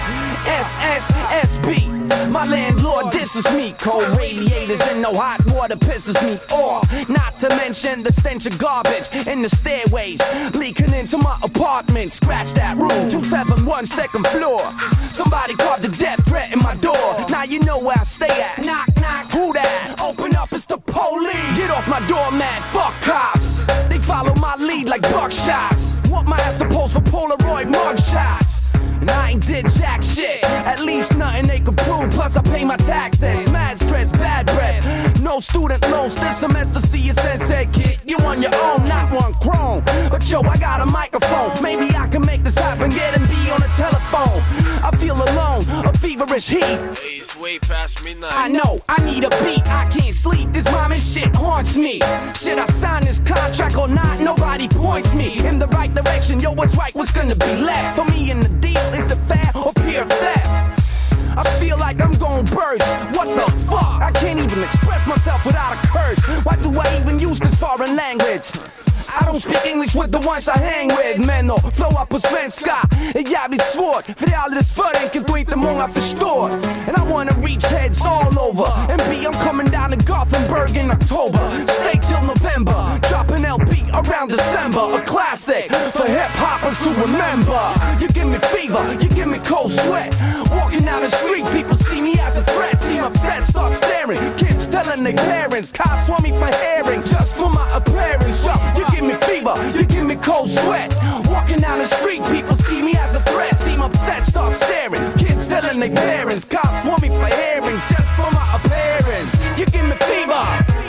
SSSB, my landlord disses me. Cold radiators and no hot water pisses me off. Not to mention the stench of garbage in the stairways leaking into my apartment. Scratch that room, 271 second floor. Somebody called the death threat in my door. Now you know where I stay at. Knock, knock, who that? Open up, it's the police. Get off my doormat, fuck cops. They follow my lead like buckshots. Want my ass to pose for Polaroid mugshots. And I ain't did jack shit. At least nothing they could prove. Plus I pay my taxes. Mad stress, bad breath. No student loans this semester. See your sensei, kid. You on your own, not one chrome. But yo, I got a microphone. Maybe I can make this happen. Get and be on the telephone. I feel alone, a feverish heat. Hey, it's way past midnight. I know, I need a beat. I can't sleep. This rhyming shit haunts me. Should I sign this contract or not? Nobody points me in the right direction. Yo, what's right? What's gonna be left for me in the deal? Is it fair or pure theft? I feel like I'm gon' burst. What the fuck? I can't even express myself without a curse. Why do I even use this foreign language? I don't speak English with the ones I hang with. Men och flow på svenska är jävligt svårt. För det är alldeles för enkelt och inte många förstår. And I wanna reach heads all over. And B, I'm coming down to Gothenburg in October. Stay till November. Drop an LP around December. A classic for hip-hoppers to remember. You give me fever, you give me cold sweat. Walking down the street, people see me as a threat. Seem upset, start staring. Kids telling their parents, cops want me for hearings just for my appearance. Yo, you give me fever, you give me cold sweat. Walking down the street, people see me as a threat. Seem upset, start staring. Kids telling their parents, cops want me for hearings just for my appearance. You give me fever.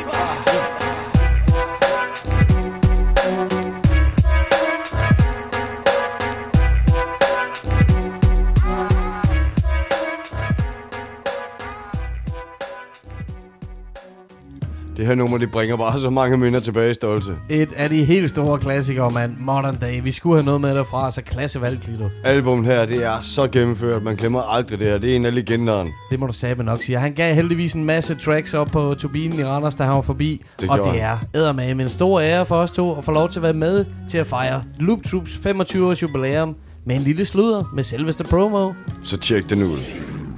Det her nummer, det bringer bare så mange minder tilbage i Stolte. Et af de helt store klassikere, mand. Modern Day. Vi skulle have noget med derfra, så klassevalg, Klito. Albummet her, det er så gennemført. Man glemmer aldrig det her. Det er en af legenderne. Det må du sabe nok sige. Han gav heldigvis en masse tracks op på turbinen i Randers, da han var forbi. Og det er eddermame en stor ære for os to at få lov til at være med til at fejre Loop Troops 25-års jubilæum med en lille sludder med selveste promo. Så tjek den ud.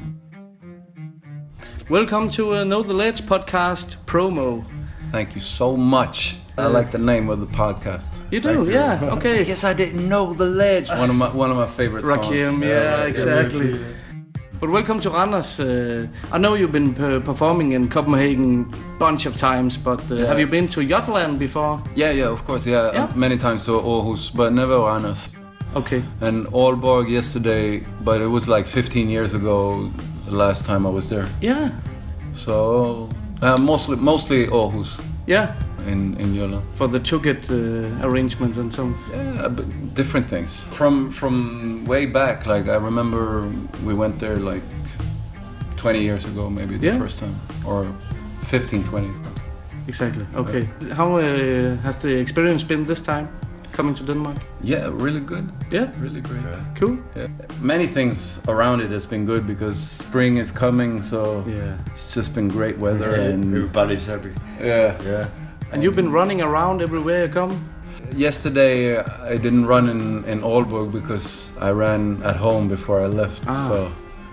Welcome to Know the Ledge podcast promo. Thank you so much. I like the name of the podcast. You do, yeah. Okay. Yes, I didn't know the ledge. One of my favorite songs. Rakim, yeah, exactly. But welcome to Randers. I know you've been performing in Copenhagen bunch of times, but have you been to Jutland before? Yeah, of course. Yeah, many times to Aarhus, but never Randers. Okay. And Aalborg yesterday, but it was like 15 years ago. The last time I was there. Yeah. So mostly Aarhus. Yeah. In Jylland. For the Tukket arrangements and some. Yeah, but different things. From way back, like I remember we went there like 20 years ago, maybe the first time, or 15, 20. Exactly. Okay. How has the experience been this time? Coming to Denmark? Yeah, really good. Yeah? Really great. Yeah. Cool. Yeah. Many things around it has been good because spring is coming, so it's just been great weather and everybody's happy. Yeah. And you've been running around everywhere you come? Yesterday I didn't run in Aalborg because I ran at home before I left. So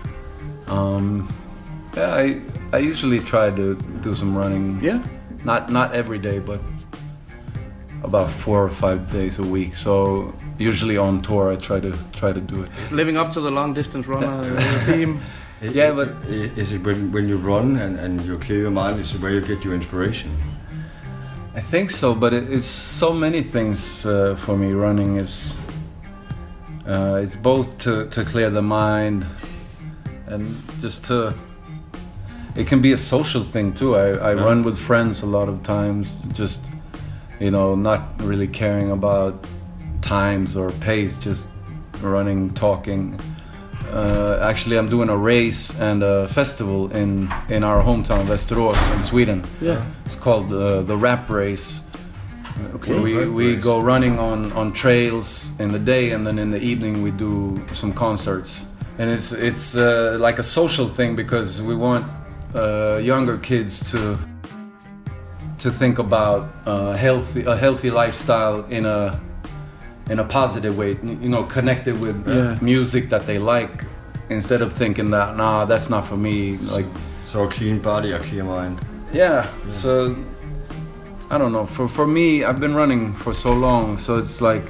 I usually try to do some running. Yeah. Not every day, but about 4 or 5 days a week. So usually on tour I try to do it. Living up to the long distance runner theme. Yeah, but is it when you run and you clear your mind, is it where you get your inspiration? I think so, but it's so many things for me. Running is it's both to clear the mind and just to. It can be a social thing too. I run with friends a lot of times, just not really caring about times or pace, just running, talking. Actually, I'm doing a race and a festival in our hometown, Västerås, in Sweden. Yeah. It's called the Rap Race. Okay. We go running on trails in the day, and then in the evening we do some concerts. And it's like a social thing because we want younger kids to think about a healthy lifestyle in a positive way, connected with music that they like, instead of thinking that that's not for me. Like, so a clean body, a clear mind. Yeah. So I don't know. For me, I've been running for so long, so it's like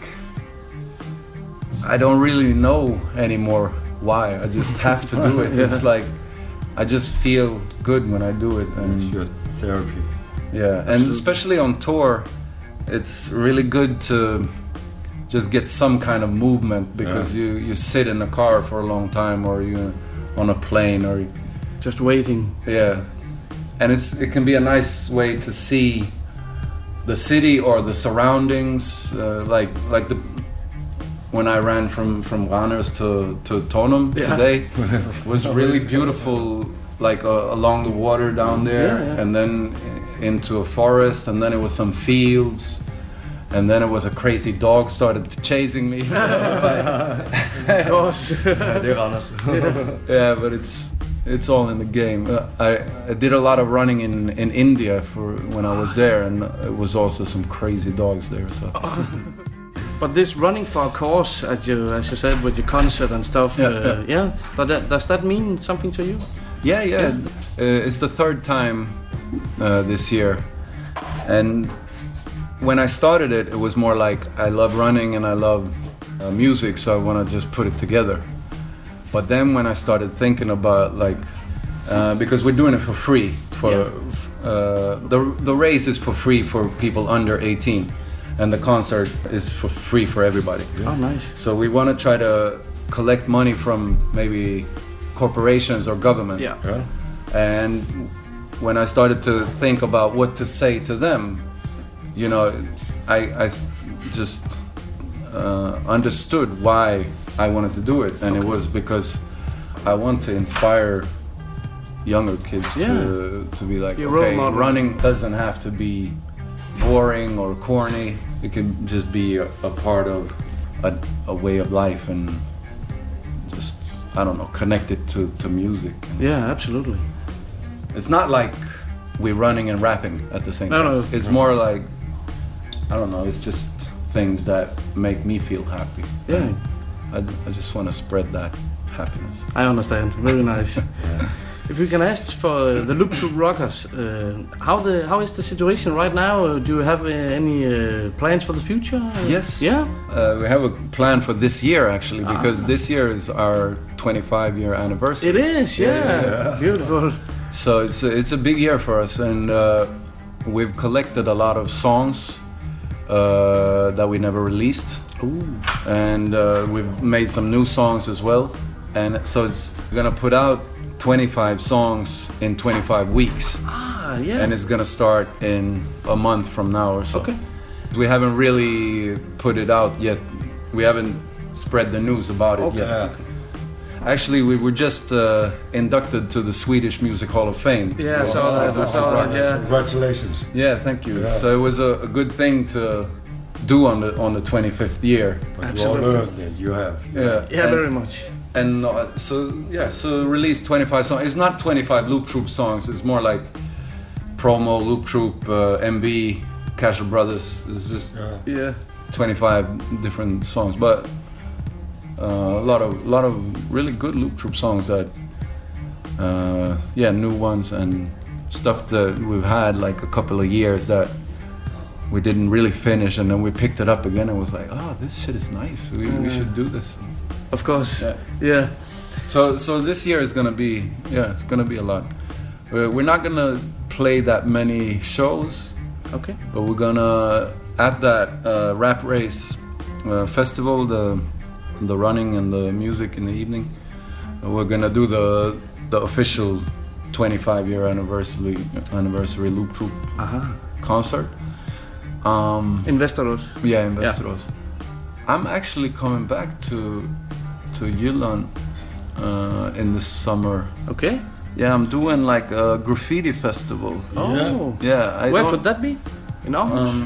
I don't really know anymore why. I just have to do it. Yeah. It's like I just feel good when I do it, and it's your therapy. Yeah, and especially on tour, it's really good to just get some kind of movement, because you sit in a car for a long time, or you're on a plane, or just waiting. Yeah, and it can be a nice way to see the city or the surroundings, like when I ran from Randers to Tonum today. It was really beautiful, like along the water down there, and then into a forest, and then it was some fields. And then it was a crazy dog started chasing me. Of course. Yeah, but it's all in the game. I did a lot of running in India when I was there, and it was also some crazy dogs there. So. But this running for a cause, as you said, with your concert and stuff, But does that mean something to you? Yeah. It's the third time this year, and when I started it was more like I love running and I love music, so I want to just put it together. But then when I started thinking about because we're doing it for free, the race is for free for people under 18, and the concert is for free for everybody. Oh, nice. So we want to try to collect money from maybe corporations or government. Yeah. And when I started to think about what to say to them, I just understood why I wanted to do it, and it was because I want to inspire younger kids to be like, okay, running doesn't have to be boring or corny. It can just be a part of a way of life, and just, I don't know, connected to music. Yeah, absolutely. It's not like we're running and rapping at the same time. No. It's more like, I don't know, it's just things that make me feel happy. Yeah. I just want to spread that happiness. I understand. Very nice. If we can ask for the Loop Troop Rockers, how is the situation right now? Do you have any plans for the future? Yes. Yeah? We have a plan for this year, actually, because this year is our 25-year anniversary. It is, yeah. Beautiful. So it's a big year for us, and we've collected a lot of songs that we never released. Ooh. And we've made some new songs as well. And so it's gonna put out 25 songs in 25 weeks. Yeah. And it's gonna start in a month from now or so. Okay. We haven't really put it out yet. We haven't spread the news about it yet. Yeah. Actually, we were just inducted to the Swedish Music Hall of Fame. Yeah, I saw that, yeah. Congratulations. Yeah, thank you. Yeah. So it was a good thing to do on the 25th year. But you all learned it, you have. Yeah, very much. And so release 25 songs. It's not 25 Loop Troop songs. It's more like Promo, Loop Troop, MB, Casual Brothers. It's just 25 different songs, but a lot of really good Loop Troop songs that new ones, and stuff that we've had like a couple of years that we didn't really finish, and then we picked it up again and was like, oh, this shit is nice. We should do this. Of course. Yeah. So this year is gonna be it's gonna be a lot. We're not gonna play that many shows. Okay. But we're gonna at that Rap Race festival, the running and the music in the evening. We're gonna do the official 25-year anniversary Loop Troop concert. Investoros. Yeah, Investoros. Yeah. I'm actually coming back to Jylland in the summer. Okay. Yeah, I'm doing like a graffiti festival. Oh. Yeah. Where could that be? In Aarhus?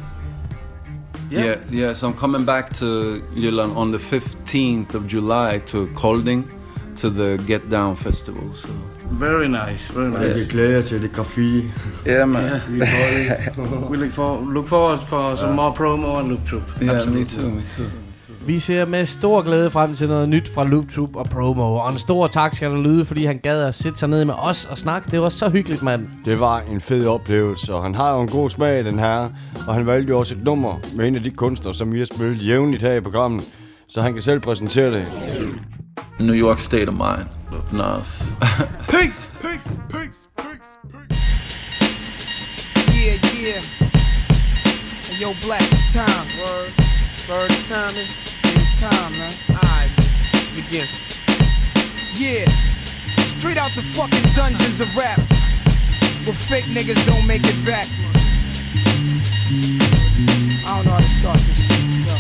Yeah. So I'm coming back to Jylland on the 15th of July to Kolding to the Get Down Festival. So. Very nice, very nice. Jeg glæder til det graffiti. Yeah, man. We look forward for some more promo on Loop Troop. Yeah, me too. Vi ser med stor glæde frem til noget nyt fra Loop Troop og promo. Og en stor tak skal der lyde, fordi han gad at sætte sig ned med os og snakke. Det var så hyggeligt, mand. Det var en fed oplevelse, og han har jo en god smag, den her. Og han valgte jo også et nummer med en af de kunstnere, som vi har spillet jævnligt her i programmet. Så han kan selv præsentere det. New York State of Mind. Nas. Peace. Yeah. Hey, yo, Black, it's time. Word, it's time, man. It's time, man. Alright, begin. Yeah, straight out the fucking dungeons of rap, where fake niggas don't make it back. I don't know how to start this shit. Yo.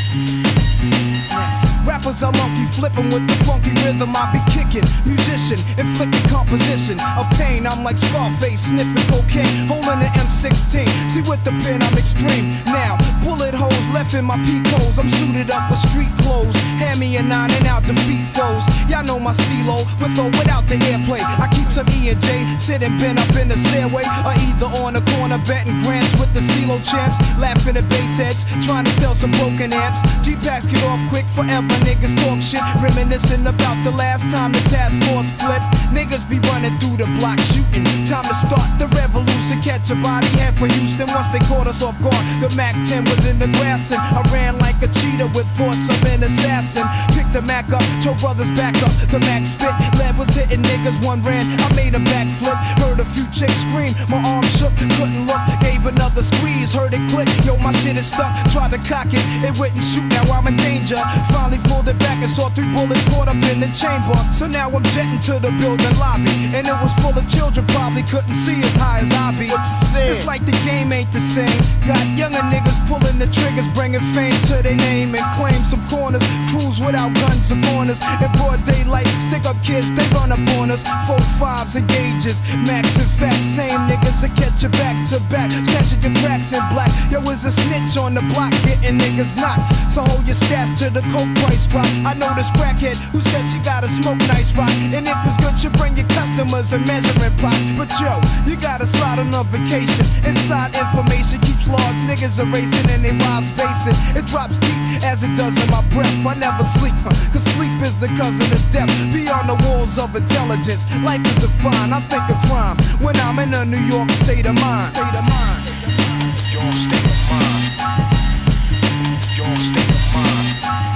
Rappers are monkey flipping with the funky rhythm I be kicking. Musician, inflicting composition of pain. I'm like Scarface sniffing cocaine, holding an M16. See with the pen I'm extreme. Now bullet holes left in my peak holes. I'm suited up with street clothes. Hand me a 9 and out defeat foes. Y'all know my stilo with or without the airplay. I keep some E and J sitting bent up in the stairway, or either on the corner betting grants with the CeeLo champs, laughing at bass heads, trying to sell some broken amps. G-Packs get off quick forever. Niggas talk shit, reminiscing about the last time the task force flipped. Niggas be running through the block shooting. Time to start the revolution. Catch a body head for Houston once they caught us off guard. The Mac 10 was in the grass and I ran like a cheetah with thoughts of an assassin. Picked the Mac up, told brothers back up. The Mac spit, lead was hitting niggas. One ran, I made a backflip. Heard a few chicks scream, my arm shook, couldn't look. Gave another squeeze, heard it click. Yo, my shit is stuck. Tried to cock it, it wouldn't shoot. Now I'm in danger. Finally pulled it back and saw 3 bullets caught up in the chamber. So now I'm jetting to the building lobby, and it was full of children, probably couldn't see as high as I be. It's like the game ain't the same. Got younger niggas pulling the triggers, bringing fame to their name and claim some corners. Cruise without guns upon us. In broad daylight, stick up kids, they run up on us. 4-5s and gauges, max and facts. Same niggas that catch you back to back, catching your cracks in black. Yo, is a snitch on the block, getting niggas knocked. So hold your stats to the coke price drop. I know this crackhead who says she gotta smoke nice rock, and if it's good, you bring your customers and measuring plots. But yo, you gotta slide on a vacation. Inside information keeps large niggas erasing and they wild spacing. It drops deep as it does in my breath. I never sleep, cause sleep is the cousin of death. Beyond the walls of intelligence, life is defined. I think of crime when I'm in a New York state of mind. State of mind. Your state of mind. Your state of mind.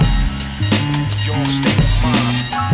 Your state of mind.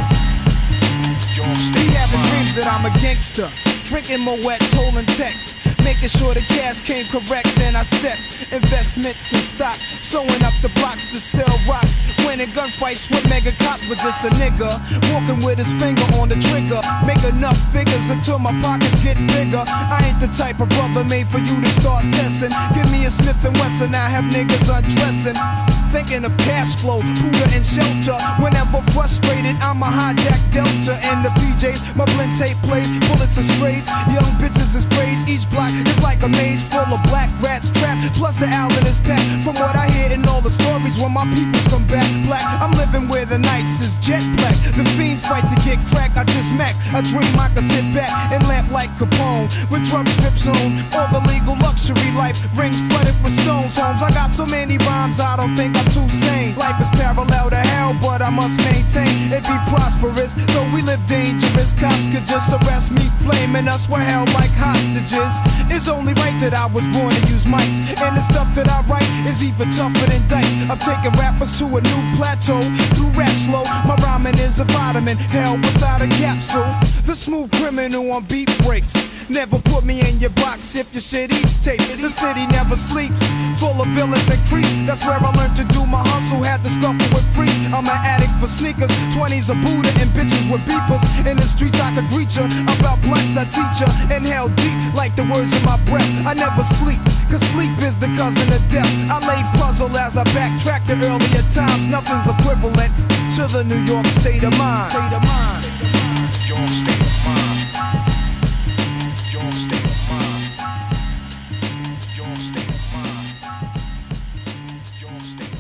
Your state of mind. Be having dreams that I'm a gangster, drinking Moet's, holding texts, making sure the cash came correct. Then I step investments in stock, sewing up the blocks to sell rocks, winning gunfights with mega cops. But just a nigga walking with his finger on the trigger, make enough figures until my pockets get bigger. I ain't the type of brother made for you to start testing. Give me a Smith & Wesson, I have niggas undressing, thinking of cash flow, Buddha and shelter. Whenever frustrated, I'ma hijack Delta and the PJs. My blend tape plays, bullets are strays, young bitches is grades. Each block is like a maze full of black rats trapped. Plus the Allen is packed. From what I hear in all the stories, when my peoples come back black, I'm living where the nights is jet black. The fiends fight to get cracked. I just max. I dream I could sit back and lamp like Capone with drug strips on. All the legal luxury life, rings flooded with stones. Homes, I got so many rhymes, I don't think I'm too sane. Life is parallel to hell, but I'm must maintain and be prosperous. Though we live dangerous, cops could just arrest me, blaming us were held like hostages. It's only right that I was born to use mics, and the stuff that I write is even tougher than dice. I'm taking rappers to a new plateau through rap slow. My rhyming is a vitamin, hell without a capsule. The smooth criminal on beat breaks. Never put me in your box if your shit eats tape. The city never sleeps, full of villains and creeps. That's where I learned to do my hustle, had to scuffle with freaks. I'm an addict for sneakers, 20s a Buddha and bitches with beepers. In the streets I could greet ya, about blunts I teach ya. Inhale deep like the words in my breath. I never sleep, cause sleep is the cousin of death. I lay puzzle as I backtrack to earlier times. Nothing's equivalent to the New York state of mind. State of mind. Your state of mind. Your state of mind. Your state of mind. Your state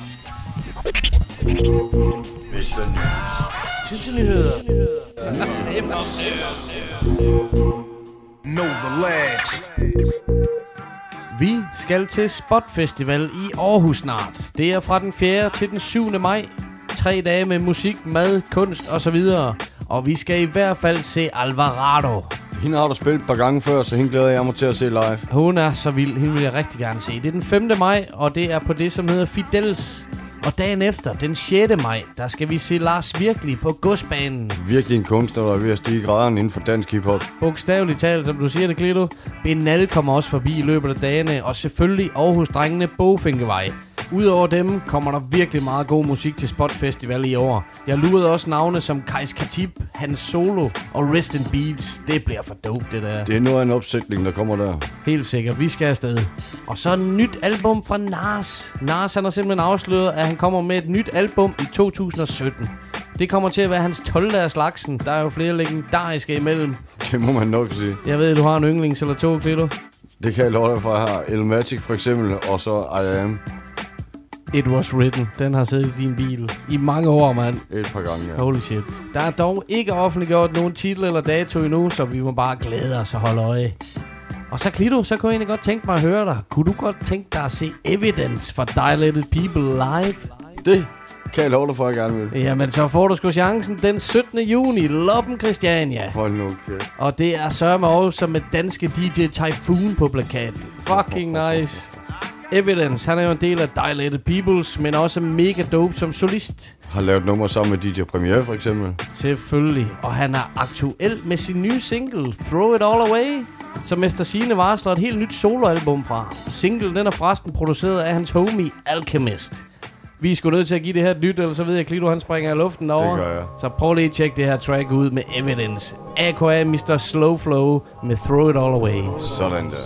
of mind. Mr. News. Nyheder. Know the ledge. Vi skal til Spot Festival i Aarhus snart. Det er fra den 4. til den 7. maj. 3 dage med musik, mad, kunst osv. Og vi skal i hvert fald se Alvarado. Hende har du spillet et par gange før, så hende glæder jeg mig til at se live. Hun er så vild. Hende vil jeg rigtig gerne se. Det er den 5. maj, og det er på det, som hedder Fidels. Og dagen efter, den 6. maj, der skal vi se Lars Virkelig på Godsbanen. Virkelig en kunstner, der er ved at stige graderne inden for dansk hiphop. Bogstaveligt talt, som du siger det, Klito. Benal kommer også forbi i løbet af dagene, og selvfølgelig Aarhus-drengene Bogfinkevej. Udover dem kommer der virkelig meget god musik til Spot Festival i år. Jeg lurede også navne som Kajs Khatib, Hans Solo og Rest in Beats. Det bliver for dope, det der. Det er noget af en opsætning, der kommer der. Helt sikkert, vi skal afsted. Og så et nyt album fra Nas. Nas, han har simpelthen afsløret, at han kommer med et nyt album i 2017. Det kommer til at være hans 12. af slagsen. Der er jo flere legendariske imellem. Det må man nok sige. Jeg ved, du har en yndlings eller to, Klito. Det kan jeg love dig for. Jeg har Elmatic for eksempel, og så I Am. It Was Written. Den har siddet i din bil i mange år, mand. Et par gange, ja. Holy shit. Der er dog ikke offentliggjort nogen titel eller dato endnu, så vi må bare glæde os og holde øje. Og så Klito, så kunne jeg egentlig godt tænke mig at høre dig. Kunne du godt tænke dig at se Evidence for Dilated People live? Det kan jeg love dig for, at jeg gerne vil. Jamen, så får du sgu chancen den 17. juni. Loppen Christiania. Hold nu, okay. Og det er sørme også med danske DJ Typhoon på plakaten. Fucking nice. Evidence, han er jo en del af Dilated Peoples, men også mega dope som solist. Har lavet nummer sammen med DJ Premier for eksempel. Selvfølgelig, og han er aktuel med sin nye single Throw It All Away, som efter sigende varsler et helt nyt soloalbum fra. Singlen, den er forresten produceret af hans homie Alchemist. Vi er sgu nødt til at give det her et nyt, eller så ved jeg, at Klito han springer i luften over. Det gør jeg. Så prøv lige at tjekke det her track ud med Evidence. A.k.a. Mr. Slow Flow med Throw It All Away. Sådan der.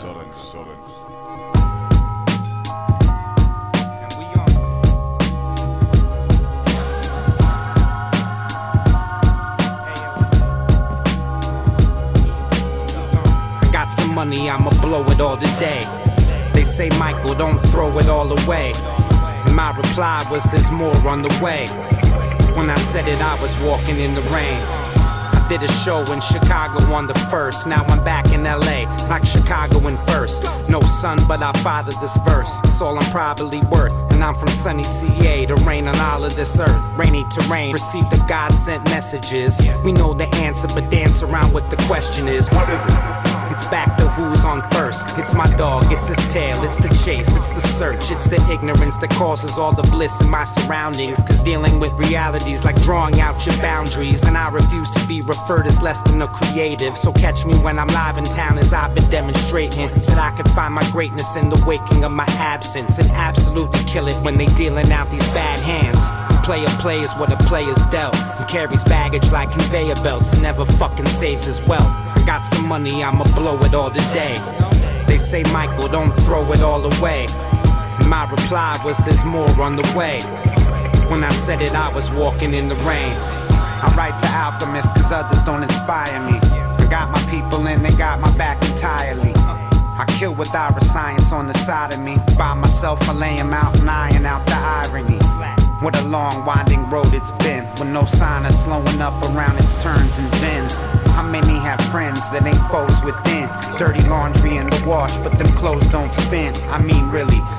Money, I'ma blow it all today. They say, Michael, don't throw it all away. And my reply was, there's more on the way. When I said it, I was walking in the rain. I did a show in Chicago on the 1st. Now I'm back in LA, like Chicago in first. No son, but I fathered this verse. It's all I'm probably worth. And I'm from sunny CA to rain on all of this earth. Rainy terrain, receive the God-sent messages. We know the answer, but dance around what the question is. What is it? It's back to who's on first. It's my dog, it's his tail, it's the chase, it's the search, it's the ignorance that causes all the bliss in my surroundings. Cause dealing with realities like drawing out your boundaries. And I refuse to be referred as less than a creative. So catch me when I'm live in town, as I've been demonstrating that I can find my greatness in the waking of my absence. And absolutely kill it when they dealing out these bad hands. Player plays what a player's dealt, and carries baggage like conveyor belts and never fucking saves his wealth. I got some money, I'ma blow it all today. They say, Michael, don't throw it all away. And my reply was, there's more on the way. When I said it, I was walking in the rain. I write to alchemists cause others don't inspire me. I got my people and they got my back entirely. I kill with our science on the side of me. By myself, I lay him out and iron out the irony. What a long winding road it's been, with no sign of slowing up around its turns and bends. How many have friends that ain't foes within? Dirty laundry in the wash, but them clothes don't spin. I mean really,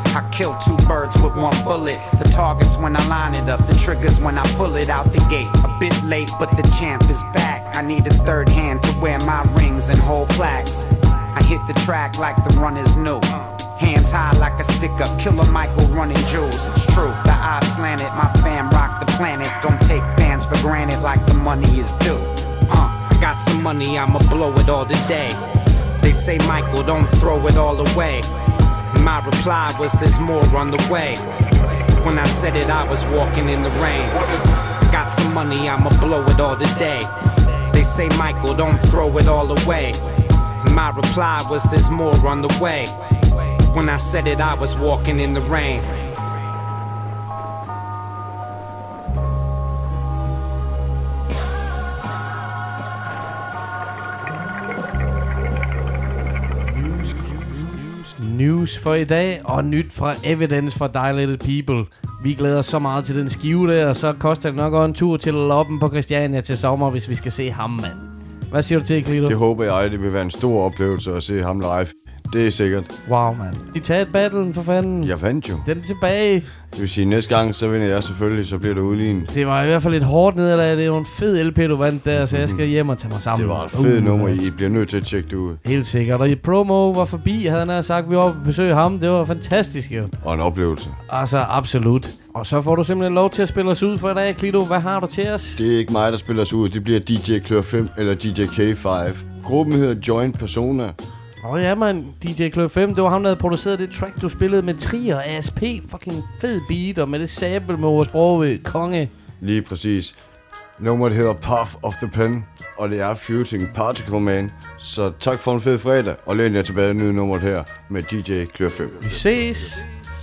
I kill two birds with one bullet. The target's when I line it up, the trigger's when I pull it out the gate. A bit late, but the champ is back. I need a third hand to wear my rings and hold plaques. I hit the track like the run is new. Hands high like a stick-up, Killer Michael running jewels. It's true, the eye slanted, my fam rock the planet. Don't take fans for granted like the money is due. I got some money, I'ma blow it all today. They say, Michael, don't throw it all away. And my reply was, there's more on the way. When I said it, I was walking in the rain. Got some money, I'ma blow it all today. They say, Michael, don't throw it all away. And my reply was, there's more on the way. When I said it, I was walking in the rain. News for i dag, og nyt fra Evidence fra Dilated People. Vi glæder os så meget til den skive der, og så koster det nok også en tur til Loppen på Christiania til sommer, hvis vi skal se ham, mand. Hvad siger du til, Klito? Det håber jeg, det vil være en stor oplevelse at se ham live. Det er sikkert. Wow, mand. De tager et battlen for fanden. Jeg vandt jo. Den er tilbage. Det vil sige, næste gang, så vinder jeg selvfølgelig, så bliver det udlignet. Det var i hvert fald et hårdt nederlag. Det er jo en fed LP, du vandt der, så jeg skal hjem og tage mig sammen. Det var et fedt nummer, I bliver nødt til at tjekke det ud. Helt sikkert. Og i promo var forbi, havde han sagt, vi var på besøg ham. Det var fantastisk, jo. Og en oplevelse. Altså, absolut. Og så får du simpelthen lov til at spille os ud for i dag, Klito. Hvad har du til os? Det er ikke mig, der spiller os ud. Det bliver DJ Klør 5 eller DJ K5. Gruppen hedder Joint Persona. Ja, man. DJ Klør 5, det var ham, der havde produceret det track, du spillede med Trier, ASP. Fucking fed beat, og med det sample med vores bror konge. Lige præcis. Nummeret hedder Path of the Pen, og det er Fusing Particle Man. Så tak for en fed fredag, og læn jer tilbage nye nummeret her med DJ Klør 5. Vi ses.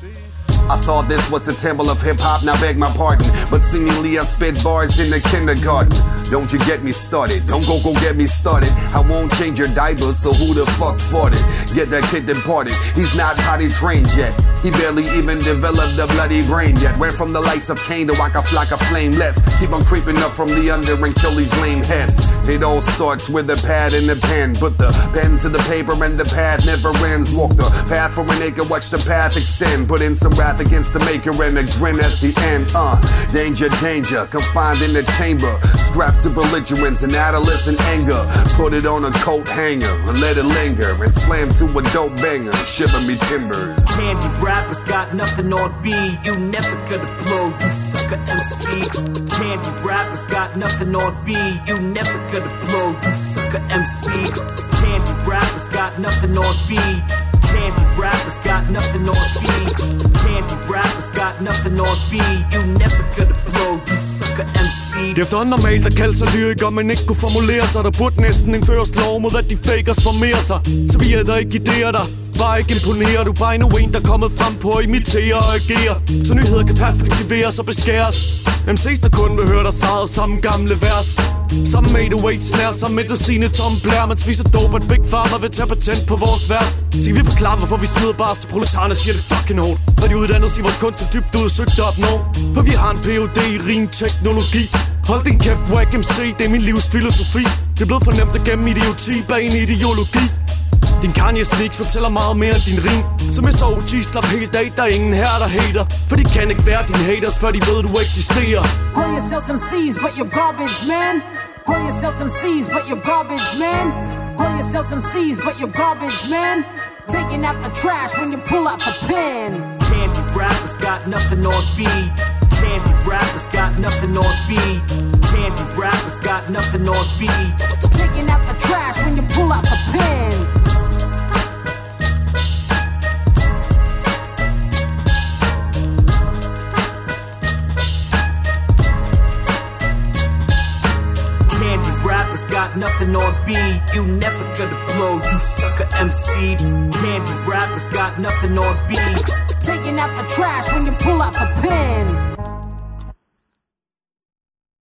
I thought this was the temple of hip-hop, now beg my pardon. But seemingly I spit bars in the kindergarten. Don't you get me started, don't go get me started. I won't change your diaper, so who the fuck fought it? Get that kid departed, he's not potty trained yet. He barely even developed the bloody brain yet. Went from the lights of Cain to like a flock of flame. Let's keep on creeping up from the under and kill these lame heads. It all starts with a pad and a pen. Put the pen to the paper and the pad never ends. Walk the path for an acre, watch the path extend. Put in some wrath against the maker and a grin at the end. Danger, danger, confined in the chamber. Strapped to belligerence and adolescent anger. Put it on a coat hanger and let it linger. And slam to a dope banger, shiver me timbers. Candy rappers got nothing on B. You never gonna blow, you sucker MC. Candy rappers got nothing on B. You never gonna blow, you sucker MC. Candy rappers got nothing on B. Candy rappers got nothing on B. Candy rappers got nothing on B. You never gonna blow, you sucker MC. Det er efterhånden normalt at kalde sig lyriker, men ikke kunne formulere sig. Der burde næsten indføres lov mod, at de fakers formerer sig. Så vi æder ikke idéer, der bare ikke imponerer. Du er bare endnu en, der er kommet frem på at imitere og agere. Så nyheder kan perspektiveres og beskæres. MC's der kun vil høre dig sejret samme gamle vers. Samme 808 snær, samme medicine Tom Blair. Man spiser dope, at Big Pharma vil tage patent på vores vers. Så kan vi forklare, hvorfor vi smider bars til proletarerne, siger det fucking hårdt. Når de uddannet sig vores kunst er dybt ud og søgt op nå. For vi har en Ph.D. i rim teknologi. Hold din kæft, Wack MC, det er min livs filosofi. Det er blevet for nemt at gemme idioti bag en ideologi. Din Kanye Sneaks fortæller meget mere end din rim. Så Mr. OG slap helt af, der er ingen her der hater. For de kan ikke være dine haters, før de ved du eksisterer. Call yourselves MCs, but you're garbage, man. Call yourselves MCs, but you're garbage, man. Call yourselves MCs, but you're garbage, man. Taking out the trash when you pull out the pen. Candy rappers got nothing on B. Candy rappers got nothing on B. Candy rappers got nothing on B. Taking out the trash when you pull out the pen. Candy rappers got nothing on B. You never gonna blow, you sucker MC. Candy rappers got nothing on B. Taking out the trash when you pull out the pen.